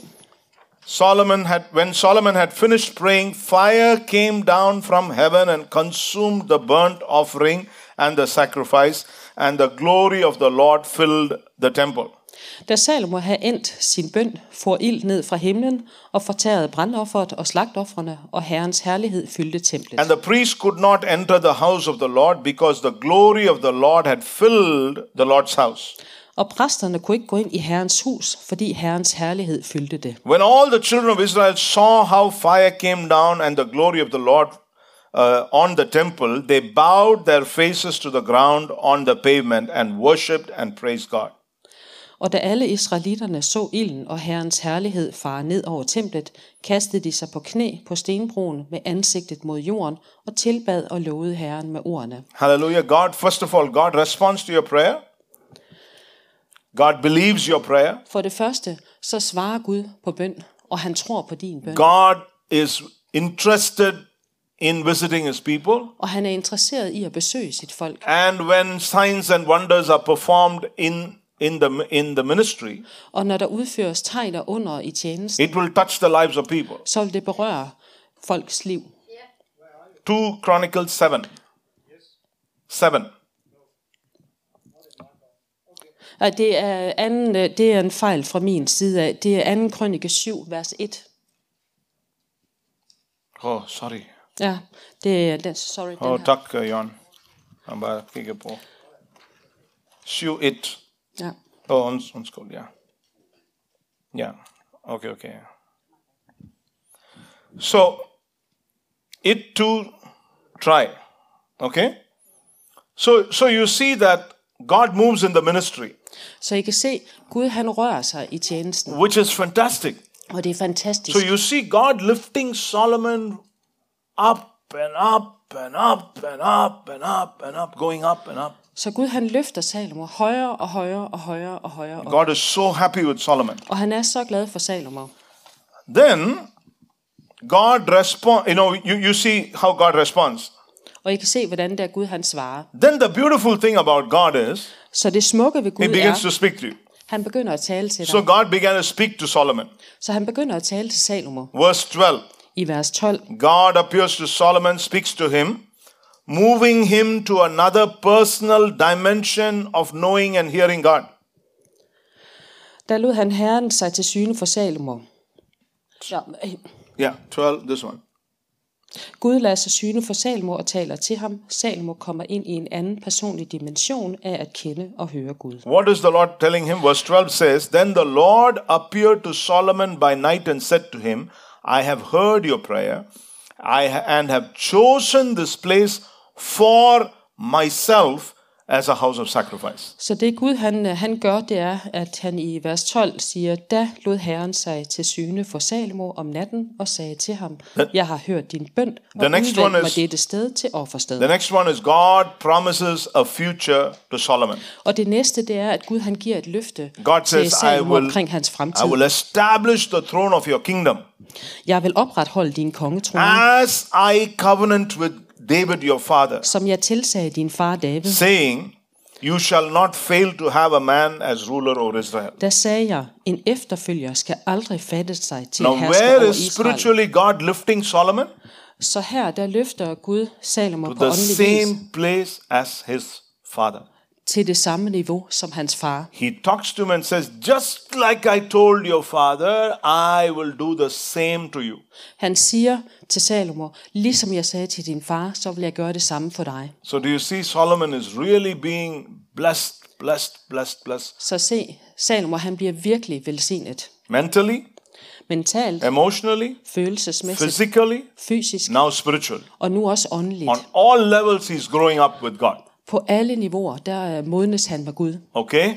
When Solomon had finished praying, fire came down from heaven and consumed the burnt offering and the sacrifice, and the glory of the Lord filled the temple. Da Salomo havde endt sin bøn, for ild ned fra himlen og fortærede brandofferet og slagtoffrene, og Herrens herlighed fyldte templet. And the priest could not enter the house of the Lord because the glory of the Lord had filled the Lord's house. Og præsterne kunne ikke gå ind i Herrens hus, fordi Herrens herlighed fyldte det. When all the children of Israel saw how fire came down and the glory of the Lord on the temple, they bowed their faces to the ground on the pavement and worshipped and praised God. Og da alle israelitterne så ilden og Herrens herlighed fare ned over templet, kastede de sig på knæ på stenbroen med ansigtet mod jorden og tilbad og lovede Herren med ordene. Hallelujah. God, first of all, God responds to your prayer. God believes your prayer. For det første, så svarer Gud på bøn, og han tror på din bøn. God is interested in visiting his people. Og han er interesseret i at besøge sit folk. And when signs and wonders are performed in the ministry, Og når der udføres tegn og under i tjenesten, it will touch the lives of people. så vil det berøre folks liv. 2 Chronicles 7. 7. Det er en fejl fra min side af. Det er 2. Krønike 7, vers 1. Oh, sorry. Ja, det er sorry. Den Oh, her. tak, Jan. Jeg bare kigger på. 7:1. Ja. Undskyld, ja. Ja, okay. So, it to try. Okay? So you see that God moves in the ministry, Så I kan se, Gud han rører sig i tjenesten, which is fantastic. og det er fantastisk. So you see God lifting Solomon up and up and up and up and up and up, going up and up. Så Gud han løfter Salomo højere og højere og højere og højere op. God is so happy with Solomon. Og han er så glad for Salomo. Then God responds, you see how God responds. Og I kan se, hvordan der Gud han svarer. Then the beautiful thing about God is, Så det smukke ved Gud he begins to er, speak to you. han begynder at tale til So dig. God began to speak to Solomon. Så han begynder at tale til Salomo. Verse 12. I vers 12. God appears to Solomon, speaks to him, moving him to another personal dimension of knowing and hearing God. Der lod han Herren sig til syne for Salomo. Ja, Yeah, 12, this one. Gud lader sig syne for Salomo og taler til ham. Salomo kommer ind i en anden personlig dimension af at kende og høre Gud. What is the Lord telling him? Verse 12 says, Then the Lord appeared to Solomon by night and said to him, I have heard your prayer, and have chosen this place for myself as a house of sacrifice. Så det Gud han gør, det er, at han i vers 12 siger, da lod Herren sig til syne for Salomo om natten og sagde til ham, jeg har hørt din bøn og udvalgt mig dette sted til offersted. The next one is God promises a future to Solomon. Og det næste, det er, at Gud han giver et løfte God til says, Salomo omkring hans fremtid. I will establish the throne of your kingdom Jeg vil opretholde din kongetrone, as I covenant with David your father, som jeg tilsagde din far David, saying, You shall not fail to have a man as ruler over Israel. Der sagde jeg, en efterfølger skal aldrig fatte sig til Now, hersker where over is Israel. spiritually God lifting Solomon? Så her, der løfter Gud Salomo To på the åndelig vis same place as his father. til det samme niveau som hans far. He talks to him and says, just like I told your father, I will do the same to you. Han siger til Salomo, ligesom jeg sagde til din far, så vil jeg gøre det samme for dig. So do you see Solomon is really being blessed. Så se, Salomo han bliver virkelig velsignet. Mentally, Mentalt, emotionally, følelsesmæssigt, physically, fysisk now spiritually. og nu også åndeligt. On all levels he's growing up with God. På alle niveauer, der modnes han med Gud. Okay?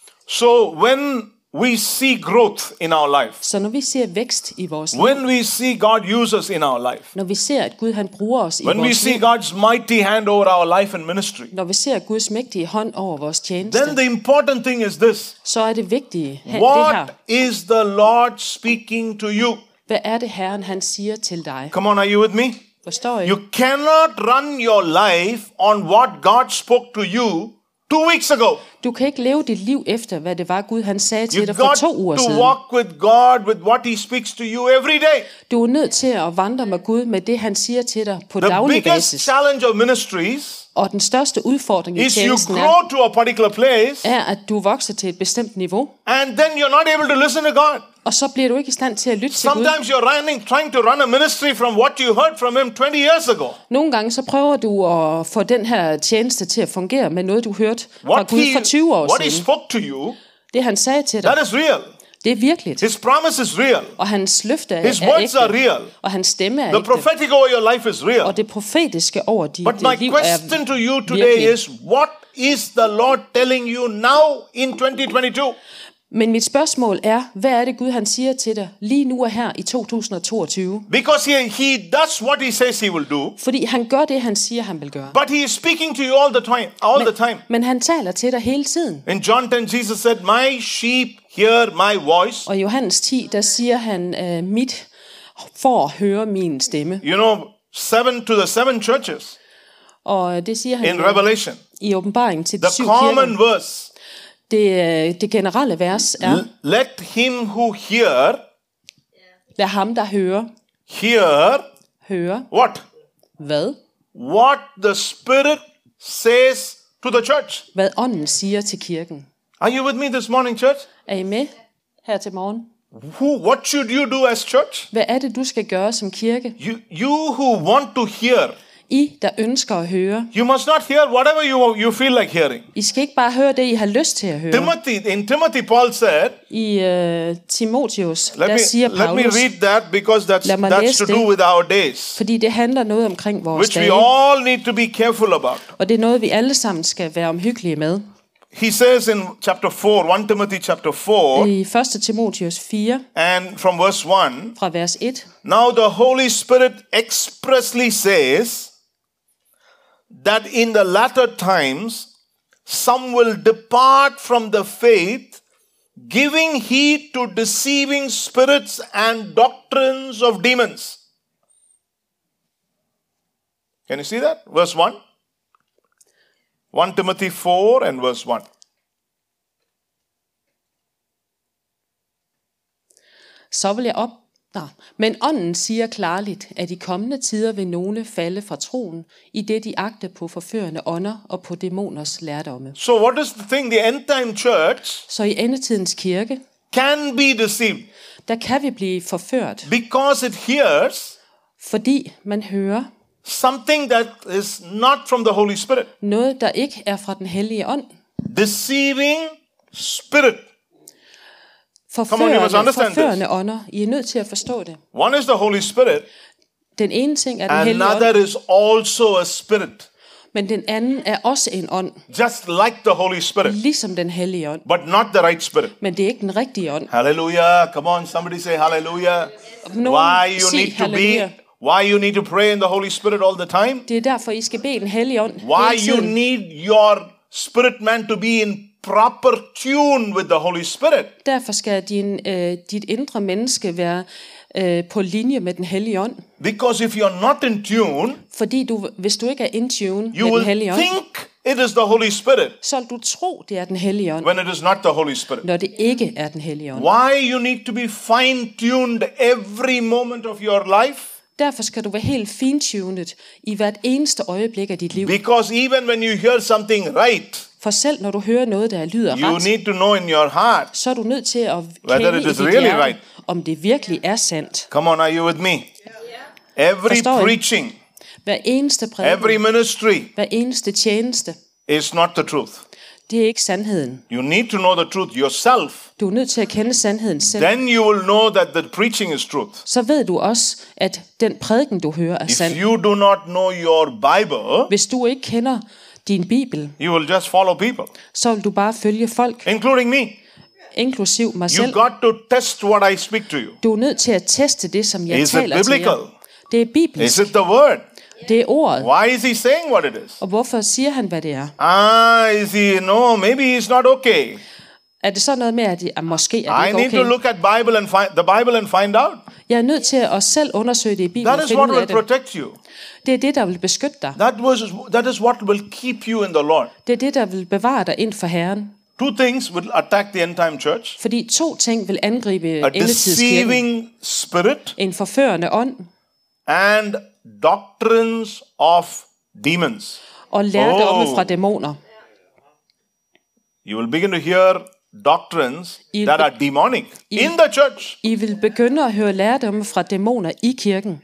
So when we see growth in our life, Så når vi ser vækst i vores liv, when we see God use us in our life, når vi ser, at Gud han bruger os i when we vores see liv, God's mighty hand over our life and ministry, når vi ser Guds mægtige hånd over vores tjeneste, then the important thing is this. så er det vigtige det her. What is the Lord speaking to you? Hvad er det Herren han siger til dig? Come on, are you with me? Forstår I? You cannot run your life on what God spoke to you 2 weeks ago. Du kan ikke leve dit liv efter, hvad det var Gud han sagde til You've dig for got 2 uger to siden. walk with God with what He speaks to you every day. Du er nødt til at vandre med Gud med det han siger til dig på The daglig biggest basis. challenge of ministries Og den største udfordring i is you tjenesten grow to a particular place er, at du vokser til et bestemt niveau, and then you're not able to listen to God. og så bliver du ikke i stand til at lytte til Gud. Sometimes you're trying to run a ministry from what you heard from Him 20 years ago. Nogle gange så prøver du at få den her tjeneste til at fungere med noget, du hørte fra Gud for 20 år What He siden. spoke to you, Det han sagde til dig, that is real. det er virkeligt. His promise is real. Og hans løfte er His words are ægte. real. Og hans stemme er The ægte. prophetic over your life is real. Og det profetiske over dit But my liv question er to you today virkelig. is, what is the Lord telling you now in 2022? Men mit spørgsmål er, hvad er det Gud han siger til dig lige nu og her i 2022? Because he does what He says He will do, Fordi han gør det, han siger, han vil gøre. but He is speaking to you all the time. Men han taler til dig hele tiden. In John 10, Jesus said, my sheep hear my voice. Og i Johannes 10, der siger han, mit får høre min stemme. You know, 7 to the 7 churches Og det siger han in Revelation. i åbenbaringen til de The 7 common kirker. verse, Det generelle vers er, let him who hear, lad ham, der hører, høre, what? hvad? What the Spirit says to the church. Hvad ånden siger til kirken. Are you with me this morning, church? Er I med her til morgen? What should you do as church? Hvad er det, du skal gøre som kirke? You who want to hear, I, der ønsker at høre. you must not hear whatever you feel like hearing. I skal ikke bare høre det, I har lyst til at høre. In Timothy, Paul said, I Timotheus, der let siger me Paulus, read that because Lad mig that's læse to do det. with our days, fordi det handler noget omkring vores which we dage, all need to be careful about. og det er noget, vi alle sammen skal være omhyggelige med. He says in chapter 4, 1 Timothy chapter 4, I 1. Timotheus 4, and from verse 1, fra vers 1, now the Holy Spirit expressly says that in the latter times some will depart from the faith, giving heed to deceiving spirits and doctrines of demons. Can you see that? Verse 1. 1 Timothy 4 and verse 1. så vil jeg op. Men ånden siger klarligt, at i kommende tider vil nogle falde fra troen, i det de agter på forførende ånder og på dæmoners lærdomme. So what is the thing? The end time church Så i endetidens kirke, can be deceived der kan vi blive forført, because it hears fordi man hører something that is not from the Holy Spirit. noget, der ikke er fra den hellige ånd. Deceiving spirit. Come on, you must understand Forførende ånder. I er nødt til at forstå det. One is the Holy Spirit, Den ene ting er den hellige another ånd, is also a spirit, men den anden er også en ånd, just like the Holy Spirit, ligesom den hellige ånd. but not the right spirit. Men det er ikke den rigtige ånd. Hallelujah. Come on, somebody say hallelujah. Nogen Why sig halleluja. you need to pray in the Holy Spirit all the time? Det er derfor, I skal bede den hellige ånd Why hele you tiden. need your spirit man to be in proper tune with the Holy Spirit. Derfor skal dit indre menneske være på linje med den hellige ånd. Because if you're not in tune, Fordi hvis du ikke er in tune you med den will hellige ånd, think it is the Holy Spirit så vil du tro, det er den hellige ånd, when it is not the Holy Spirit. når det ikke er den hellige ånd. Why you need to be fine-tuned every moment of your life? Derfor skal du være helt fintunet i hvert eneste øjeblik af dit liv. Because even when you hear something right, For selv når du hører noget, der lyder you ret, need to know in your heart, så er du nødt til at Whether kende it i is dit really hjerte, right. om det virkelig er sandt. come on, are you with me? Every Forstår I? preaching, Hver eneste every prædiken, ministry hver eneste tjeneste, is not the truth. det er ikke sandheden. You need to know the truth yourself. Du er nødt til at kende sandheden selv. Then you will know that the preaching is truth. Så ved du også, at den prædiken, du hører, er If sand. you do not know your Bible, Hvis du ikke kender din bibel, you will just follow people, så vil du bare følge folk, including me. inklusiv mig You selv. got to test what I speak to you. Du er nødt til at teste det, som jeg Is it taler til biblical? jer. Det er Is bibelsk. it the word? Det er ordet. Why is he saying what it is? Og hvorfor siger han, hvad det er? Is he, no, maybe he's not okay. Er det så noget med, at måske er I det need ikke to okay? look at Bible and the Bible and find out. Jeg er nødt til at selv undersøge det i Bibelen That og is finde what ud af will det. protect you. Det er det, der vil beskytte dig. That is what will keep you in the Lord. Det er det, der vil bevare dig ind for Herren. Two things will attack the end time church. Fordi to ting vil angribe A endetidskirken. deceiving spirit En forførende ånd and doctrines of demons. og lærdomme Oh. fra dæmoner. You will begin to hear doctrines Il- that are demonic in the church. I vil begynde at høre lærdomme fra dæmoner i kirken,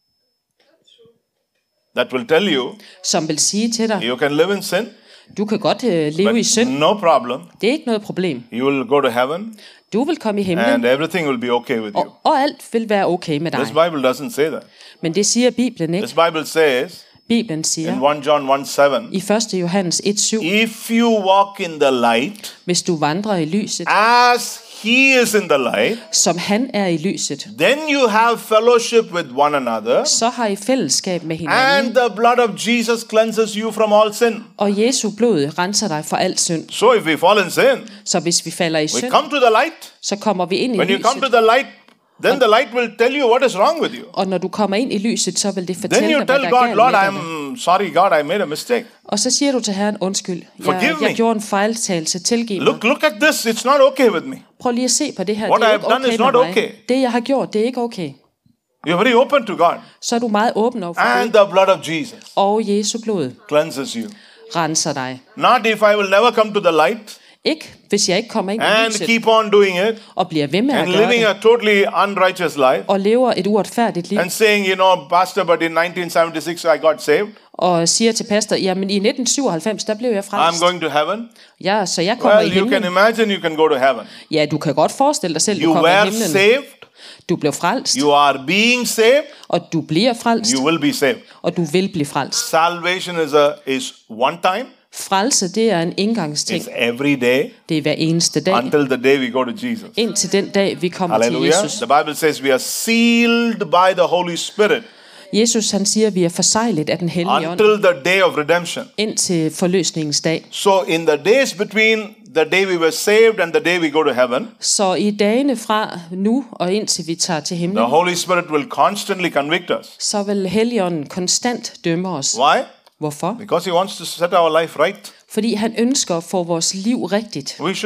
That will tell you som vil sige til dig, you can live in sin, du kan godt leve i but synd. no problem. Det er ikke noget problem. You will go to heaven Du vil komme i himlen, and everything will be okay with you. og alt vil være okay med dig. This Bible doesn't say that. Men det siger Bibelen ikke. This Bible says Bibelen in siger 1 John 1:7, i 1. Johannes 1:7, if you walk in the light hvis du vandrer i lyset, as he is in the light, som han er i lyset, then you have fellowship with one another, så har I fællesskab med and hinanden, the blood of Jesus cleanses you from all sin. og Jesu blod renser dig for al synd. So if we fall in sin, Så hvis vi falder i we synd, come to the light. så kommer vi ind i When you come to lyset. the light, then the light will tell you what is wrong with you. Og når du kommer ind i lyset, så vil det Then fortælle you dig, hvad tell der er God, galt Lord, med dig. I'm sorry, God, I made a mistake. Og så siger du til Herren, undskyld, Forgive me. jeg gjorde en fejltagelse, tilgiv mig. Look at this. It's not okay with me. Prøv lige at se på det her, What det er I ikke have done okay is med not mig. okay. Det jeg har gjort, det er ikke okay. You're very open to God. Så er du meget åben over for And Gud, the blood of Jesus og Jesu blod cleanses you. renser dig. Not if I will never come to the light Ikke, hvis jeg ikke kommer ind i and lyset, keep on doing it og bliver ved med at and gøre living det, a totally unrighteous life og lever et uretfærdigt liv, and saying, Pastor, but in 1976 I got saved. og siger til pastor, jamen i 1997, der blev jeg I'm frelst. going to heaven. Ja, så jeg kommer i Well, you can himlen. imagine you can go to heaven. Ja, du kan godt forestille dig selv, du You kommer i were himlen. saved. Du blev frelst, You are being saved. og du bliver frelst, You will be saved. og du vil blive frelst. Salvation is one time. Frelse, det er en indgangsting. It's every day Det er hver eneste dag, until the day we go to Jesus. indtil den dag, vi kommer til Hallelujah. Jesus. The Bible says we are sealed by the Holy Spirit Jesus, han siger, at vi er forseglet af den hellige ånd, until the day of redemption. indtil forløsningens dag. So in the days between the day we were saved and the day we go to heaven, Så i dagene fra nu og indtil vi tager til the himlen, Holy Spirit will constantly convict us. så vil Helligånden konstant dømme os. Why? Hvorfor? Because he wants to set our life right. Fordi han ønsker at få vores liv rigtigt. We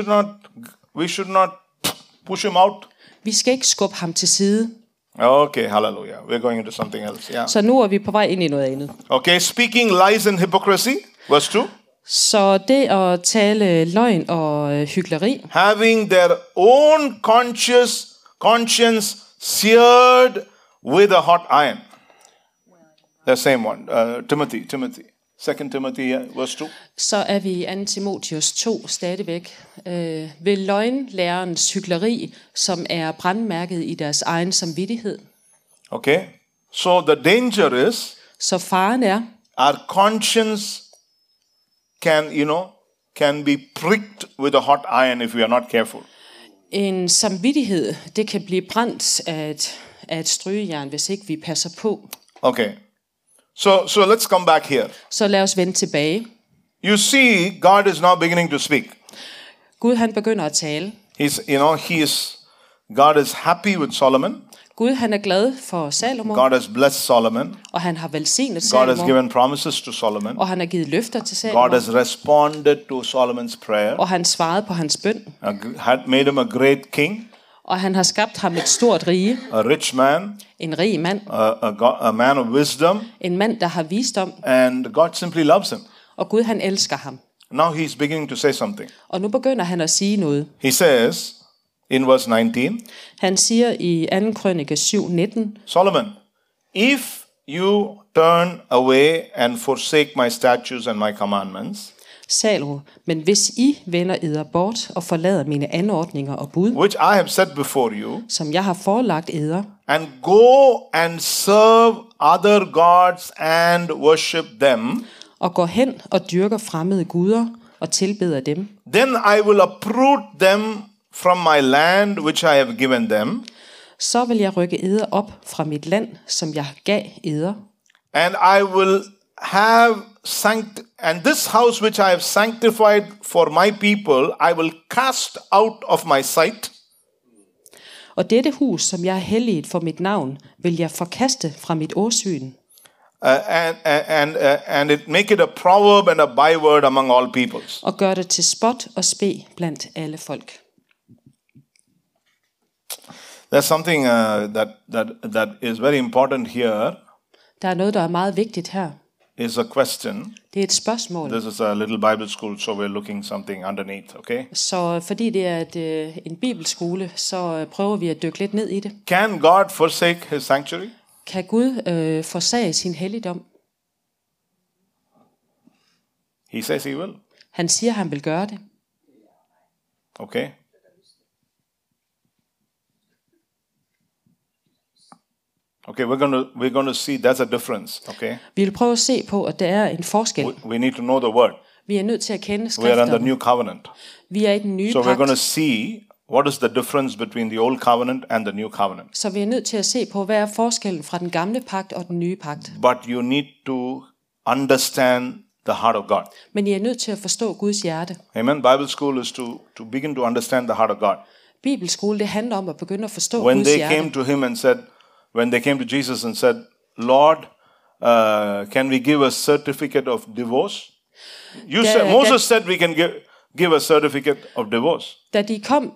should not push him out. Vi skal ikke skubbe ham til side. Okay, hallelujah. We're going into something else. Yeah. Så nu er vi på vej ind i noget andet. Okay, speaking lies and hypocrisy, verse 2. Så det at tale løgn og hykleri, Having their own conscience seared with a hot iron. The same one. Timothy. 2 Timothy, verse 2. så er vi i 2. Timotheus 2 stadigvæk ved løgnlærerens hykleri, som er brandmærket i deres egen samvittighed. Okay. So the danger is Så faren er, our conscience can be pricked with a hot iron if we are not careful. en samvittighed, det kan blive brændt af et strygejern, hvis ikke vi passer på. Okay. So let's come back here. Så lad os vende tilbage. You see, God is now beginning to speak. Gud han begynder at tale. God is happy with Solomon. Gud han er glad for Salomo, God has blessed Solomon. og han har velsignet God has Salomo, given promises to Solomon. og han har givet løfter til God Salomo, has responded to Solomon's prayer. og han svarede på hans bøn, Had made him a great king, og han har skabt ham et stort rige, a rich man, en rig mand, a man of wisdom, en mand, der har visdom, and God simply loves him. og Gud han elsker ham. Now he's beginning to say something. Og nu begynder han at sige noget. He says in verse 19, Han siger i 2. krønike 7:19, Solomon, if you turn away and forsake my statutes and my commandments, Salomo, men hvis I vender eder bort og forlader mine anordninger og bud, which I have set before you, som jeg har forelagt eder, and go and serve other gods and worship them, og går hen og dyrker fremmede guder og tilbeder dem, then I will uproot them from my land which I have given them, så vil jeg rykke eder op fra mit land, som jeg gav eder, and I will have and this house which I have sanctified for my people, I will cast out of my sight, og dette hus, som jeg har helliget for mit navn, vil jeg forkaste fra mit åsyn, and it make it a proverb and a byword among all peoples. og gør det til spot og spe blandt alle folk. There's something that is very important here. Der er noget, der er meget vigtigt her. Is a question. Det er et spørgsmål. This is a little Bible school, so we're looking something underneath, okay? Så fordi det er en bibelskole, så prøver vi at dykke lidt ned i det. Can God forsake his sanctuary? Kan Gud forsage sin helligdom? He says he will. Han siger, han vil gøre det. Okay. Okay, we're going to see there's a difference, okay? Vi vil prøve at se på, at der er en forskel. We need to know the word. Vi er nødt til at kende We are under skrifterne. new covenant. Vi er i den nye So we're going to pagt. see what is the difference between the old covenant and the new covenant. Så vi er nødt til at se på, hvad er forskellen fra den gamle pagt og den nye pagt. But you need to understand the heart of God. Men I er nødt til at forstå Guds hjerte. Amen. Bible school is to begin to understand the heart of God. Bibelskole, det handler om at begynde at forstå When Guds they hjerte. came to him and said, when they came to Jesus and said, Lord, can we give a certificate of divorce? Moses said we can give a certificate of divorce. Da de kom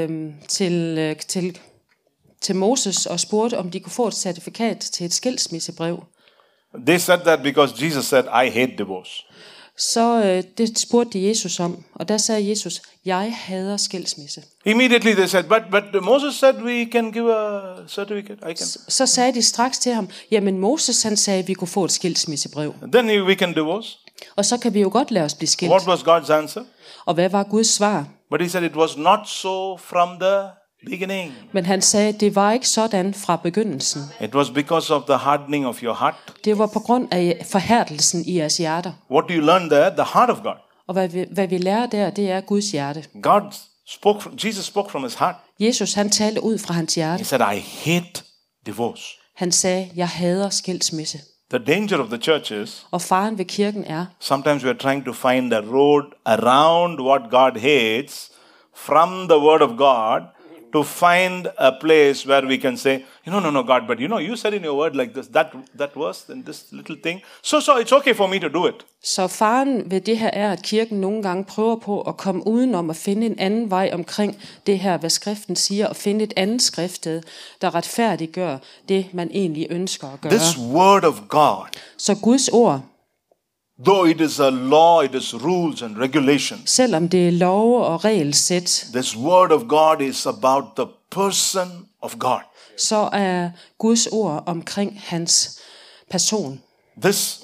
til Moses og spurgte, om de kunne få et certifikat til et skilsmissebrev, They said that because Jesus said, I hate divorce. så det spurgte de Jesus om, og der sagde Jesus, jeg hader skilsmisse. Immediately they said, but Moses said we can give a certificate. Så sagde de straks til ham, jamen Moses han sagde, at vi kunne få et skilsmissebrev, Then we can divorce. og så kan vi jo godt lade os blive skilt. What was God's answer? Og hvad var Guds svar? But he said it was not so from the beginning. Men han sagde, det var ikke sådan fra begyndelsen. It was because of the hardening of your heart. Det var på grund af forhærdelsen i jeres hjerter. What do you learn there? The heart of God. Og hvad vi lærer der, det er Guds hjerte. Jesus spoke from his heart. Jesus han talte ud fra hans He hjerte. said, I hate divorce. Han sagde, jeg hader skilsmisse. The danger of the church is, Og faren ved kirken er, sometimes we are trying to find a road around what God hates from the word of God to find a place where we can say, no, God, but you said in your word like this, that verse and this little thing. So it's okay for me to do it. så faren ved det her er, at kirken nogle gange prøver på at komme udenom at finde en anden vej omkring det her, hvad skriften siger, og finde et andet skriftsted, der retfærdiggør det, man egentlig ønsker at gøre. This word of God, Så Guds ord, though it is a law, it is rules and regulations, selvom det er love og regelsæt, this word of God is about the person of God. så er Guds ord omkring hans person. This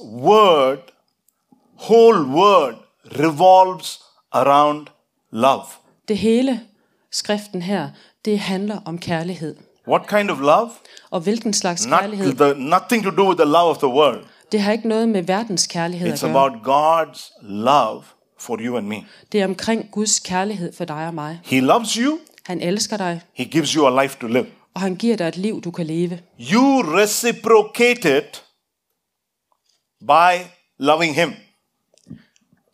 whole word revolves around love. Det hele skriften her, det handler om kærlighed. What kind of love? Og hvilken slags kærlighed? Nothing to do with the love of the world. Det har ikke noget med verdens kærlighed at It's gøre. about God's love for you and me. Det er omkring Guds kærlighed for dig og mig. He loves you. Han elsker dig, He gives you a life to live. og han giver dig et liv, du kan leve. You reciprocate it by loving him.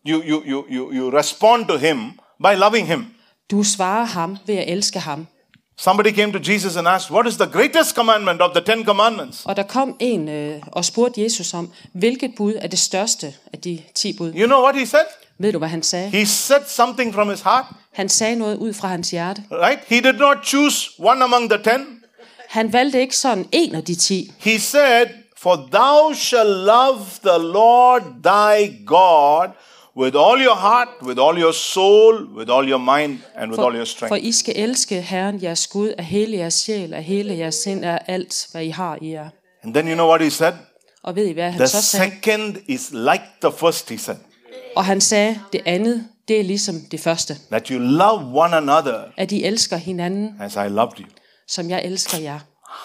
You respond to him by loving him. Du svarer ham ved at elske ham. Somebody came to Jesus and asked, what is the greatest commandment of the 10 commandments? Og der kom en og spurgte Jesus om, hvilket bud er det største af de 10 bud. You know what he said? Ved du, hvad han sagde? He said something from his heart, Han sagde noget ud fra hans hjerte. right? He did not choose one among the 10. Han valgte ikke sådan en af de 10. He said, for thou shall love the Lord thy God with all your heart, with all your soul, with all your mind, and with all your For strength. I skal elske Herren jeres Gud af hele jeres sjæl, af hele jeres sind, af alt, hvad I har i jer. And then you know what he said? Og ved I, hvad han The så sagde? second is like the first, he said. Og han sagde, det andet, det er ligesom det første. That you love one another At I elsker hinanden, as I loved you. som jeg elsker jer.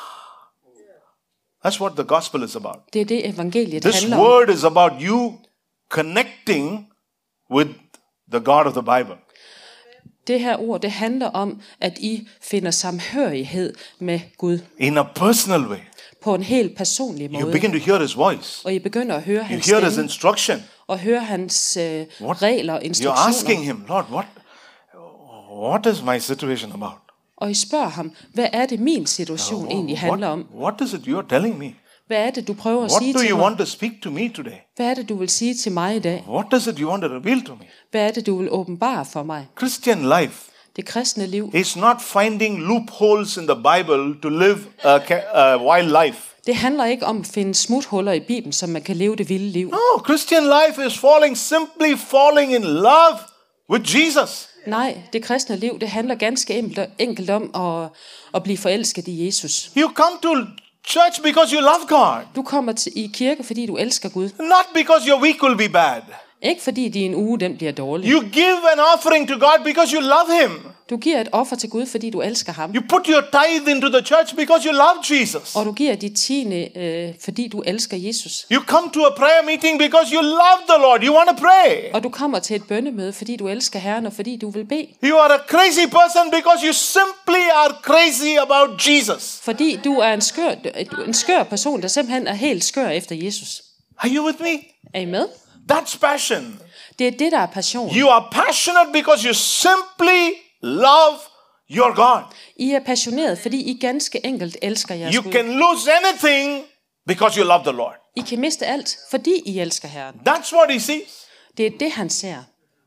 That's what the gospel is about. Det er det, evangeliet This handler om. word is about you connecting with the God of the Bible. Det her ord, det handler om, at I finder samhørighed med Gud. In a personal way. På en helt personlig You måde. begin to hear his voice. Og I begynder at høre You hans hear his stemme. instruction. Og høre hans What? regler og You're instruktioner. asking him, Lord, what is my situation about? Og I spørger ham, hvad er det min situation egentlig handler om? What is it you're telling me? Hvad er det, du prøver at What sige do til you mig? want to speak to me today? Hvad er det, du vil sige til mig i dag? What is it you want to reveal to me? Hvad er det, du vil åbenbare for mig? Christian life Det kristne liv, is not finding loopholes in the Bible to live a wild life. det handler ikke om at finde smuthuller i Bibelen, så man kan leve det vilde liv. No, Christian life is simply falling in love with Jesus. Nej, det kristne liv, det handler ganske enkelt om at blive forelsket i Jesus. You come to church because you love God, Du kommer i kirke, fordi du elsker Gud. not because your week will be bad. Ikke fordi din uge, den bliver dårlig. You give an offering to God because you love Him. Du giver et offer til Gud, fordi du elsker ham. You put your tithe into the church because you love Jesus. Og du giver dit tiende, fordi du elsker Jesus. You come to a prayer meeting because you love the Lord. You want to pray. Og du kommer til et bønnemøde, fordi du elsker Herren, og fordi du vil bede. You are a crazy person because you simply are crazy about Jesus. Fordi du er en skør person, der simpelthen er helt skør efter Jesus. Are you with me? Er I med? That's passion. Det er det, der er passion. You are passionate because you simply love your God. I er passioneret, fordi I ganske enkelt elsker jeres You Gud. can lose anything because you love the Lord. I kan miste alt, fordi I elsker Herren. That's what he sees. Det er det, han ser.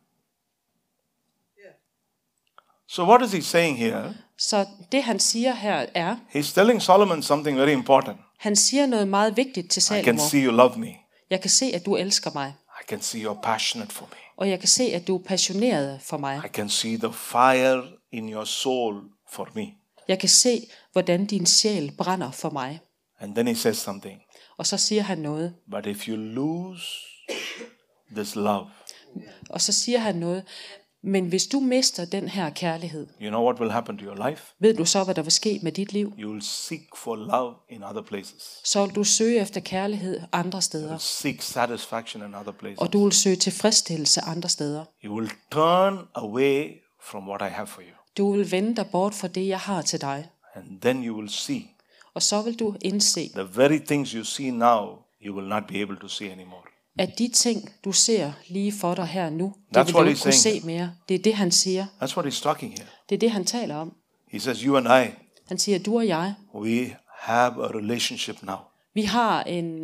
So what is he saying here? Så det, han siger her, er, He's telling Solomon something very important. han siger noget meget vigtigt til I can Salomo. see you love me. Jeg kan se, at du elsker mig. I can see you're passionate for me. Og jeg kan se, at du er passioneret for mig. I can see the fire in your soul for me. Jeg kan se, hvordan din sjæl brænder for mig. And then he says something. Og så siger han noget. But if you lose this love, Og så siger han noget. Men hvis du mister den her kærlighed, you know what will happen to your life? ved du så, hvad der vil ske med dit liv? You will seek for love in other places. Så vil du søge efter kærlighed andre steder. Seek satisfaction in other places. Og du vil søge tilfredsstillelse andre steder. You will turn away from what I have for you. Du vil vende dig bort fra det, jeg har til dig. And then you will see Og så vil du indse, the very things you see now, you will not be able to see anymore. at de ting, du ser lige for dig her nu, That's det vil du what ikke he's kunne saying se mere. Det er det, han siger. That's what he's talking here. Det er det, han taler om. He says, you and I, Han siger, du og jeg, we have a relationship now. vi har en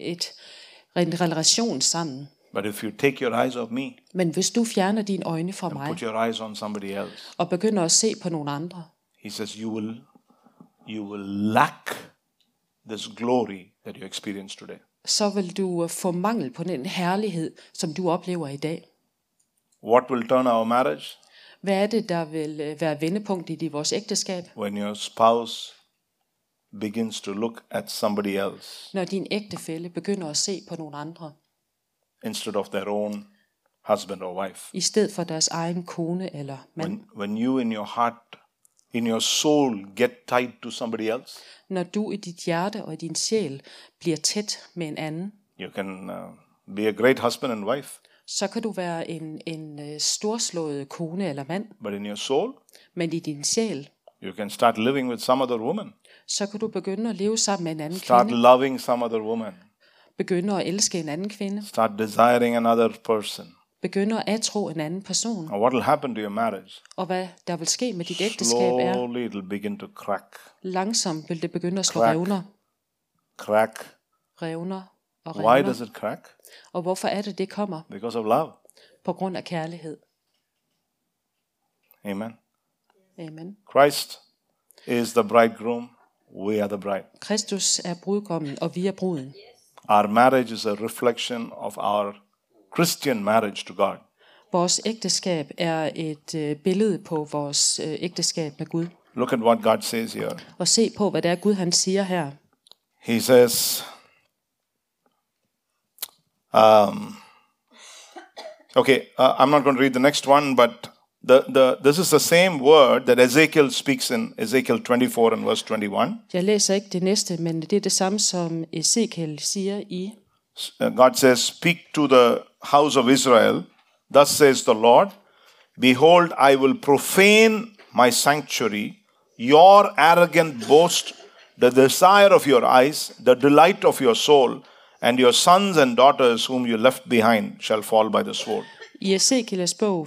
relation sammen. But if you take your eyes off me, Men hvis du fjerner dine øjne fra mig, put your eyes on somebody else, og begynder at se på nogle andre, he says, you will lack this glory that you experience today. så vil du få mangel på den herlighed, som du oplever i dag. What will turn our marriage? Hvad er det, der vil være vendepunkt i vores ægteskab? When your spouse begins to look at somebody else Når din ægtefælle begynder at se på nogle andre, instead of their own husband or wife. i stedet for deres egen kone eller mand. When you in your heart, in your soul, get tied to somebody else, Når du i dit hjerte og i din sjæl bliver tæt med en anden, you can be a great husband and wife, så kan du være en storslået kone eller mand, but in your soul, men i din sjæl, you can start living with some other woman. så kan du begynde at leve sammen med en anden Start kvinde, loving some other woman. begynde at elske en anden kvinde, Start desiring another person. begynder at atro en anden person. And what will happen to your marriage? Og hvad der vil ske med dit ægteskab er, Slowly it will begin to crack. langsomt vil det begynde at slå Crack. revner og Why revner. does it crack? Og hvorfor er det kommer? Because of love. På grund af kærlighed. Amen. Amen. Christ is the bridegroom. We are the bride. Kristus er brudgommen, og vi er bruden. Our marriage is a reflection of our Christian marriage to God. Vores ægteskab er et billede på vores ægteskab med Gud. Look at what God says here. Og se på, hvad det er Gud han siger her. He says, I'm not going to read the next one, but this is the same word that Ezekiel speaks in Ezekiel 24 and verse 21. Jeg læser ikke det næste, men det er det samme, som Ezekiel siger i. God says, speak to the house of Israel. Thus says the Lord, behold, I will profane my sanctuary, your arrogant boast, the desire of your eyes, the delight of your soul, and your sons and daughters whom you left behind shall fall by the sword. I Ezekiels bog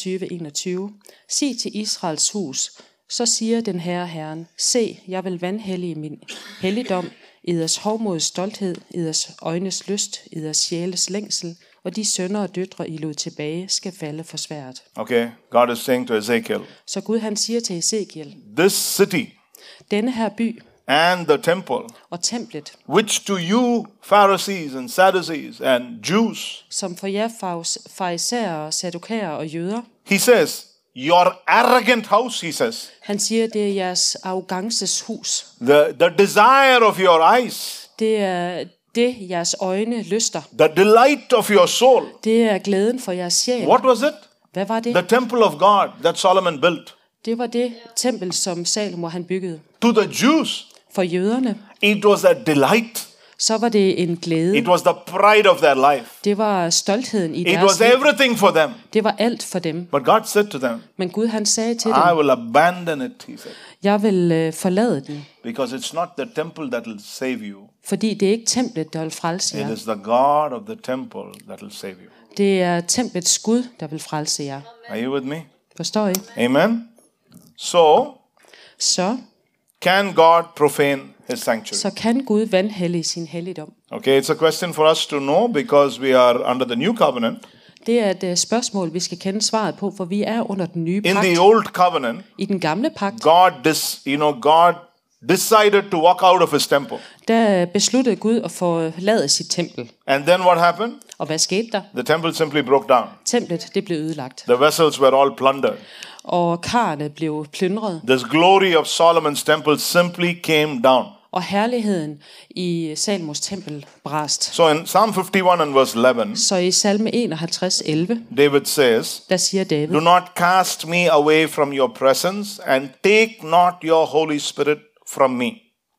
24:21. Sig til Israels hus, så siger den Herren, se, jeg vil vanhellige min helligdom, eders hovmods stolthed, eders øjnes lyst, eders sjæles længsel, og de sønner og døtre, I lod tilbage, skal falde for svært. Okay, God is saying to Ezekiel, Så Gud han siger til Ezekiel, this city denne her by and the temple, og templet, which to you Pharisees and Sadducees and Jews, som for jer farisæere, sadukærer og jøder, he says, your arrogant house, he says, han siger, det er jeres arrogances hus. the desire of your eyes, Det er det, jeres øjne lyster. the delight of your soul. Det er glæden for jeres sjæl. What was it? Hvad var det? The temple of God that Solomon built. Det var det tempel, som Salomo han byggede. To the Jews, For jøderne, it was a delight. så var det en glæde. It was the pride of their life. Det var stoltheden i It deres was liv. everything for them. Det var alt for dem. But God said to them, Men Gud han sagde til I dem, will abandon it, he said, jeg vil forlade den, because it's not the temple that will save you. fordi det er ikke templet, der vil frelse It jer. is the God of the temple that will save you. Det er templets Gud, der vil frelse jer. Are you with me? Forstår I? Amen. So, Så can God profane his sanctuary? kan Gud vanhellige sin helligdom. Okay, it's a question for us to know because we are under the new covenant. Det er et spørgsmål, vi skal kende svaret på, for vi er under den nye In pagt. the old covenant, I den gamle pagt, God decided to walk out of his temple. der besluttede Gud at forlade sit tempel. And then what happened? Og hvad skete der? The temple simply broke down. Templet, det blev ødelagt. The vessels were all plundered. Og karrene blev plyndret. This glory of Solomon's temple simply came down. Og herligheden i Salmos tempel brast. So in Psalm 51 and verse 11, Så i salme 51:11, David says, der siger David, do not cast me away from your presence and take not your Holy Spirit from me.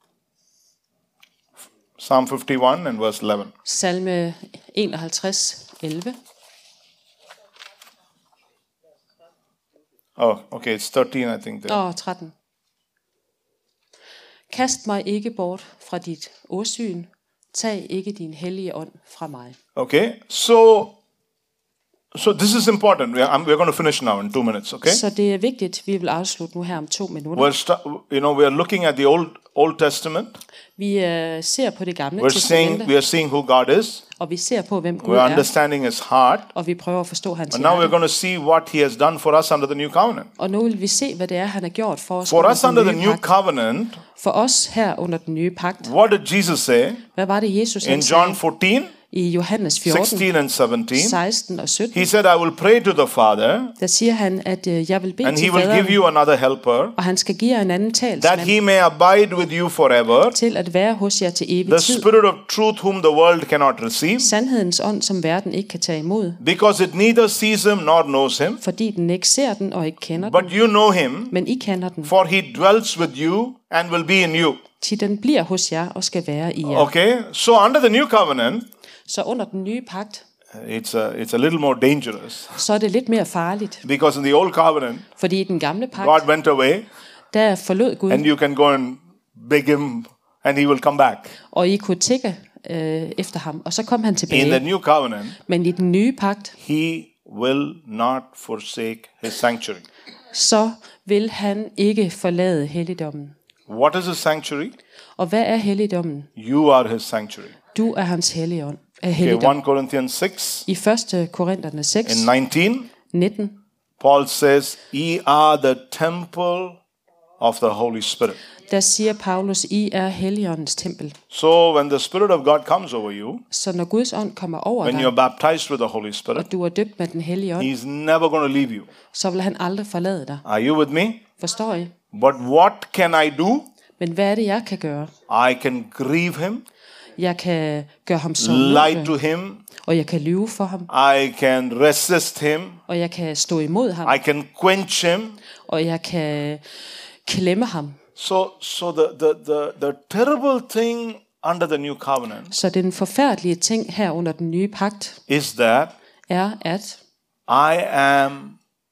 Psalm 51 and verse 11. salme 51:11. Oh, okay, it's 13, I think. There. Og 13. Kast mig ikke bort fra dit åsyn. Tag ikke din hellige ånd fra mig. Okay, so this is important. We're going to finish now in 2 minutes, okay? Så det er vigtigt, vi vil afslutte nu her om 2 minutter. We are looking at the Old Testament. Vi ser på det gamle We testamente, are seeing who God is. og vi ser på, hvem Gud We are er, understanding his heart. og vi prøver at forstå hans And now we're hjerte. going to see what he has done for us under the new covenant. Og nu vil vi se, hvad det er, han har gjort for os For us under the den nye new pagt. covenant, For os her under den nye pagt. what did Jesus say Hvad var det, Jesus in han John sagde 14, i Johannes 14, 16 and 17? 16 og 17? He said, I will pray to the Father, Der siger han, at jeg vil bede and til he will give faderen, you another helper, og han skal give jer en anden that talsmand he may abide with you forever, til at være hos jer til evig the tid. Spirit of truth whom the world cannot receive, Sandhedens ånd, som verden ikke kan tage imod, because it neither sees him nor knows him, fordi den ikke ser den og ikke kender but den, you know him, men I kender den, for he dwells with you and will be in you. til den bliver hos jer og skal være i jer. Okay, so under the new covenant, Så under den nye pagt, it's a little more dangerous, så er det lidt mere farligt, because in the old covenant, fordi i den gamle God pagt, went away, der forlod Gud, and you can go and beg him, and he will come back. og I kunne tikke efter ham, og så kom han In the tilbage. new covenant, Men i den nye pagt, he will not forsake his sanctuary. så vil han ikke forlade helligdommen. What is his sanctuary? Og hvad er helligdommen? You are his sanctuary. Du er hans helligdom. Okay, 1 Corinthians 6 I 1. Korinterne 6, and 19, 19, Paul says, ye are the temple of the Holy Spirit. der siger Paulus, I er Helligåndens tempel. So when the Spirit of God comes over you, Så når Guds ånd kommer over when dig, you're baptized with the Holy Spirit, og du er døbt med den hellige ånd, he's never going to leave you. så vil han aldrig forlade dig. Are you with me? Forstår I? But what can I do? Men hvad er det, jeg kan gøre? I can grieve him, Jeg kan gøre ham lie sårende, to him, og jeg kan lyve for ham, I can resist him, og jeg kan stå imod ham, I can quench him. og jeg kan klemme ham. So the terrible thing under the new covenant Så den forfærdelige ting her under den nye pagt is that er, at I am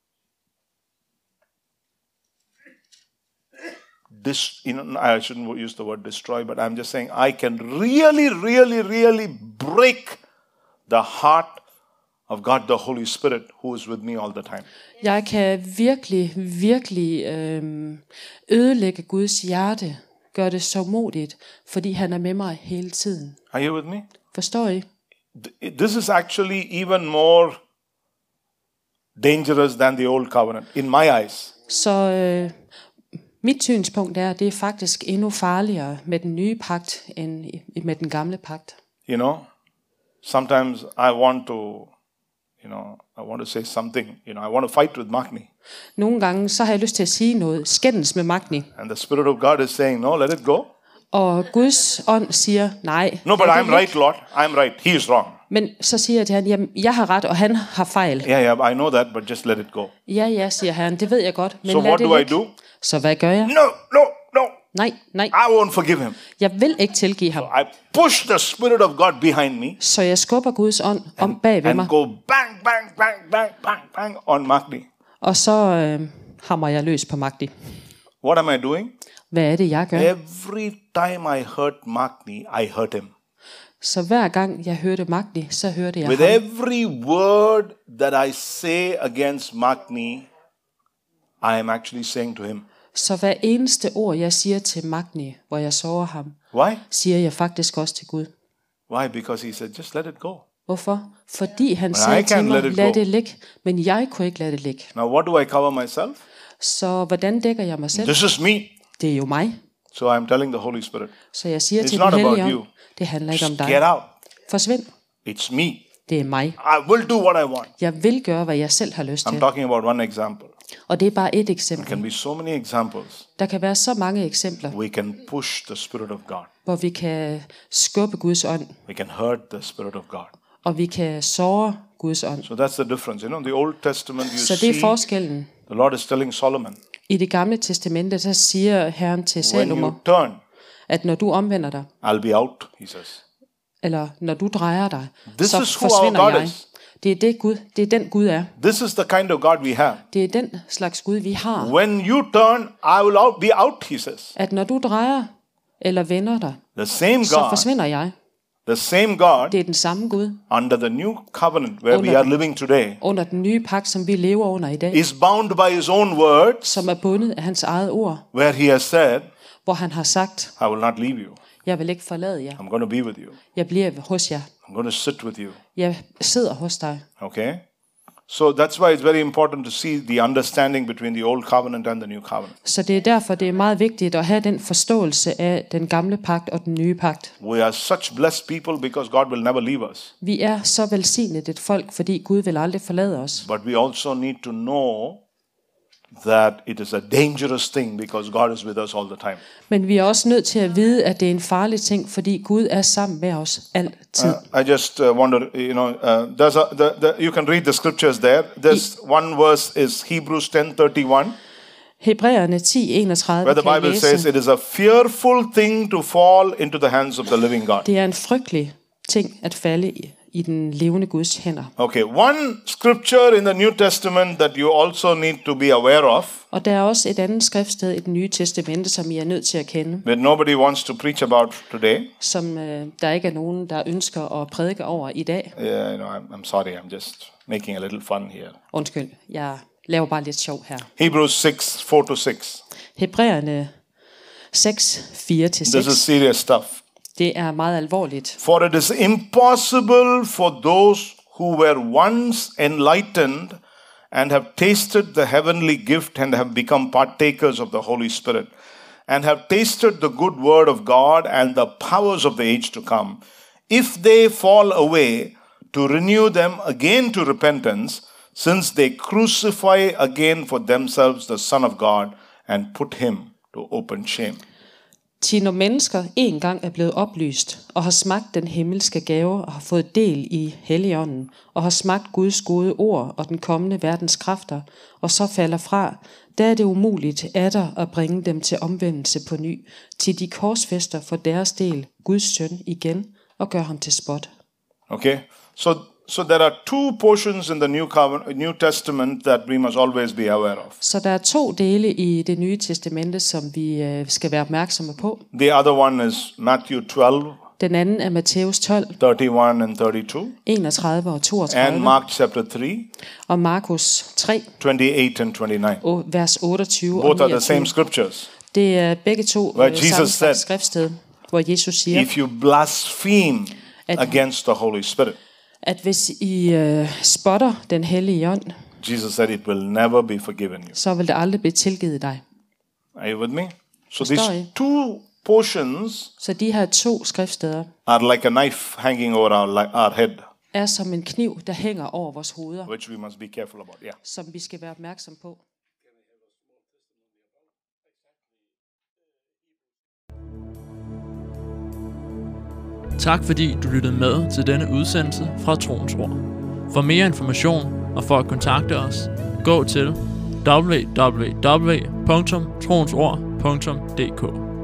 I shouldn't use the word destroy, but I'm just saying I can really break the heart of God the Holy Spirit who is with me all the time. jeg kan virkelig ødelægge Guds hjerte, gøre det så modigt, fordi han er med mig hele tiden. Are you with me? Forstår I? This is actually even more dangerous than the old covenant in my eyes. Så mit synspunkt er, at det er faktisk endnu farligere med den nye pagt, end med den gamle pagt. You know, sometimes I want to say something, I want to fight with Magni. Nogle gange, så har jeg lyst til at sige noget, skændes med Magni. And the Spirit of God is saying, no, let it go. Og Guds ånd siger, nej. No, but lad det I'm ligge. right, Lord. I'm right. He is wrong. Men så siger jeg til ham, jamen, jeg har ret, og han har fejl. Yeah, I know that, but just let it go. Ja, siger han, det ved jeg godt, men So lad what det do I ligge. do? Så hvad gør jeg? No. Nej. I won't forgive him. Jeg vil ikke tilgive ham. I push the Spirit of God behind me Så jeg skubber Guds ånd om bag ved and mig, go bang on Magni. og så hammer jeg løs på Magni. What am I doing? Hvad er det, jeg gør? Every time I hurt Magni, I hurt him. Så hver gang jeg hørte Magni, så hørte jeg With ham. every word that I say against Magni, I am actually saying to him, Så hver eneste ord, jeg siger til Magni, hvor jeg sårer ham, why? siger jeg faktisk også til Gud. Why? Because he said, just let it go. Hvorfor? Fordi han I sagde til can't mig, let it lad go. det ligge, men jeg kunne ikke lade det ligge. Now, what do I cover myself? Så hvordan dækker jeg mig selv? This is me. Det er jo mig. So I'm telling the Holy Spirit, Så jeg siger It's til not den about hellige you. ånd, det handler ikke om just dig. get out. Forsvind. It's me. Det er mig. I will do what I want. Jeg vil gøre, hvad jeg selv har lyst I'm til. talking about one example. Og det er bare et There eksempel. can be so many examples. Der kan være så mange eksempler, We can push the Spirit of God. hvor vi kan skubbe Guds ånd, We can hurt the Spirit of God. og vi kan såre Guds ånd. So that's the difference. In the Old Testament, you Så det see er forskellen. the Lord is telling Solomon, I det gamle testamente, så siger Herren til when Salomo, you turn, at når du omvender dig, I'll be out, he says. eller når du drejer dig, This så is who our forsvinder God jeg. is. Det er den Gud er. This is the kind of God we have. Det er den slags Gud, vi har. When you turn, I will be out, he says. At når du drejer eller vender dig, The same så God, forsvinder jeg. the same God Det er den samme Gud under the new covenant where we are living today under den nye pagt, som vi lever under i dag, is bound by his own words, som er bundet af hans eget ord, where he has said, hvor han har sagt, I will not leave you. jeg vil ikke forlade jer. I'm going to be with you. Jeg bliver hos jer. I'm going to sit with you. Jeg sidder hos dig. Okay? So that's why it's very important to see the understanding between the old covenant and the new covenant. Så det er derfor, det er meget vigtigt at have den forståelse af den gamle pagt og den nye pagt. We are such blessed people because God will never leave us. Vi er så velsignet et folk, fordi Gud vil aldrig forlade os. But we also need to know that it is a dangerous thing because God is with us all the time. Men vi er også nødt til at vide, at det er en farlig ting, fordi Gud er sammen med os altid. I just wonder, you can read the scriptures there. This one verse is Hebrews 10:31, Hebræerne 10:31 where the kan I Bible says læse. it is a fearful thing to fall into the hands of the living God. Det er en frygtelig ting at falde i den levende Guds hænder. Okay, one scripture in the New Testament that you also need to be aware of, Og der er også et andet skriftsted i det nye testamente, som I er nødt til at kende, that nobody wants to preach about today. som der ikke er nogen, der ønsker at prædike over i dag. Yeah, I know, I'm sorry, I'm just making a little fun here. Undskyld, jeg laver bare lidt sjov her. Hebrews 6, 4-6. Hebræerne 6, 4-6. This is serious stuff. Det er meget alvorligt. For it is impossible for those who were once enlightened and have tasted the heavenly gift and have become partakers of the Holy Spirit and have tasted the good word of God and the powers of the age to come, if they fall away, to renew them again to repentance, since they crucify again for themselves the Son of God and put him to open shame. Til når mennesker en gang er blevet oplyst og har smagt den himmelske gave og har fået del i Helligånden og har smagt Guds gode ord og den kommende verdens kræfter og så falder fra, der er det umuligt atter at bringe dem til omvendelse på ny, til de korsfæster for deres del Guds søn igen og gør ham til spot. Okay, so there are two portions in the New Testament that we must always be aware of. Så der er 2 dele i det nye testamente, som vi skal være opmærksomme på. The other one is Matthew 12, Den anden er Matthæus 12, 31 and 32, 31 og 32, and Mark chapter 3, og Markus 3, 28 and 29. vers 28 og Both are the 29. same scriptures. Det er begge to Where Jesus samme said, skriftsted, hvor Jesus siger, If you blaspheme At- against the Holy Spirit, at hvis I spotter den hellige ånd, Jesus said it will never be forgiven you. så vil det aldrig blive tilgivet dig. Are you with me? So Forstår these I? two portions Så de her 2 skriftsteder are like a knife hanging over our head, er som en kniv, der hænger over vores hoveder, which we must be careful about. Yeah. som vi skal være opmærksom på. Tak fordi du lyttede med til denne udsendelse fra Troens Ord. For mere information og for at kontakte os, gå til www.troensord.dk.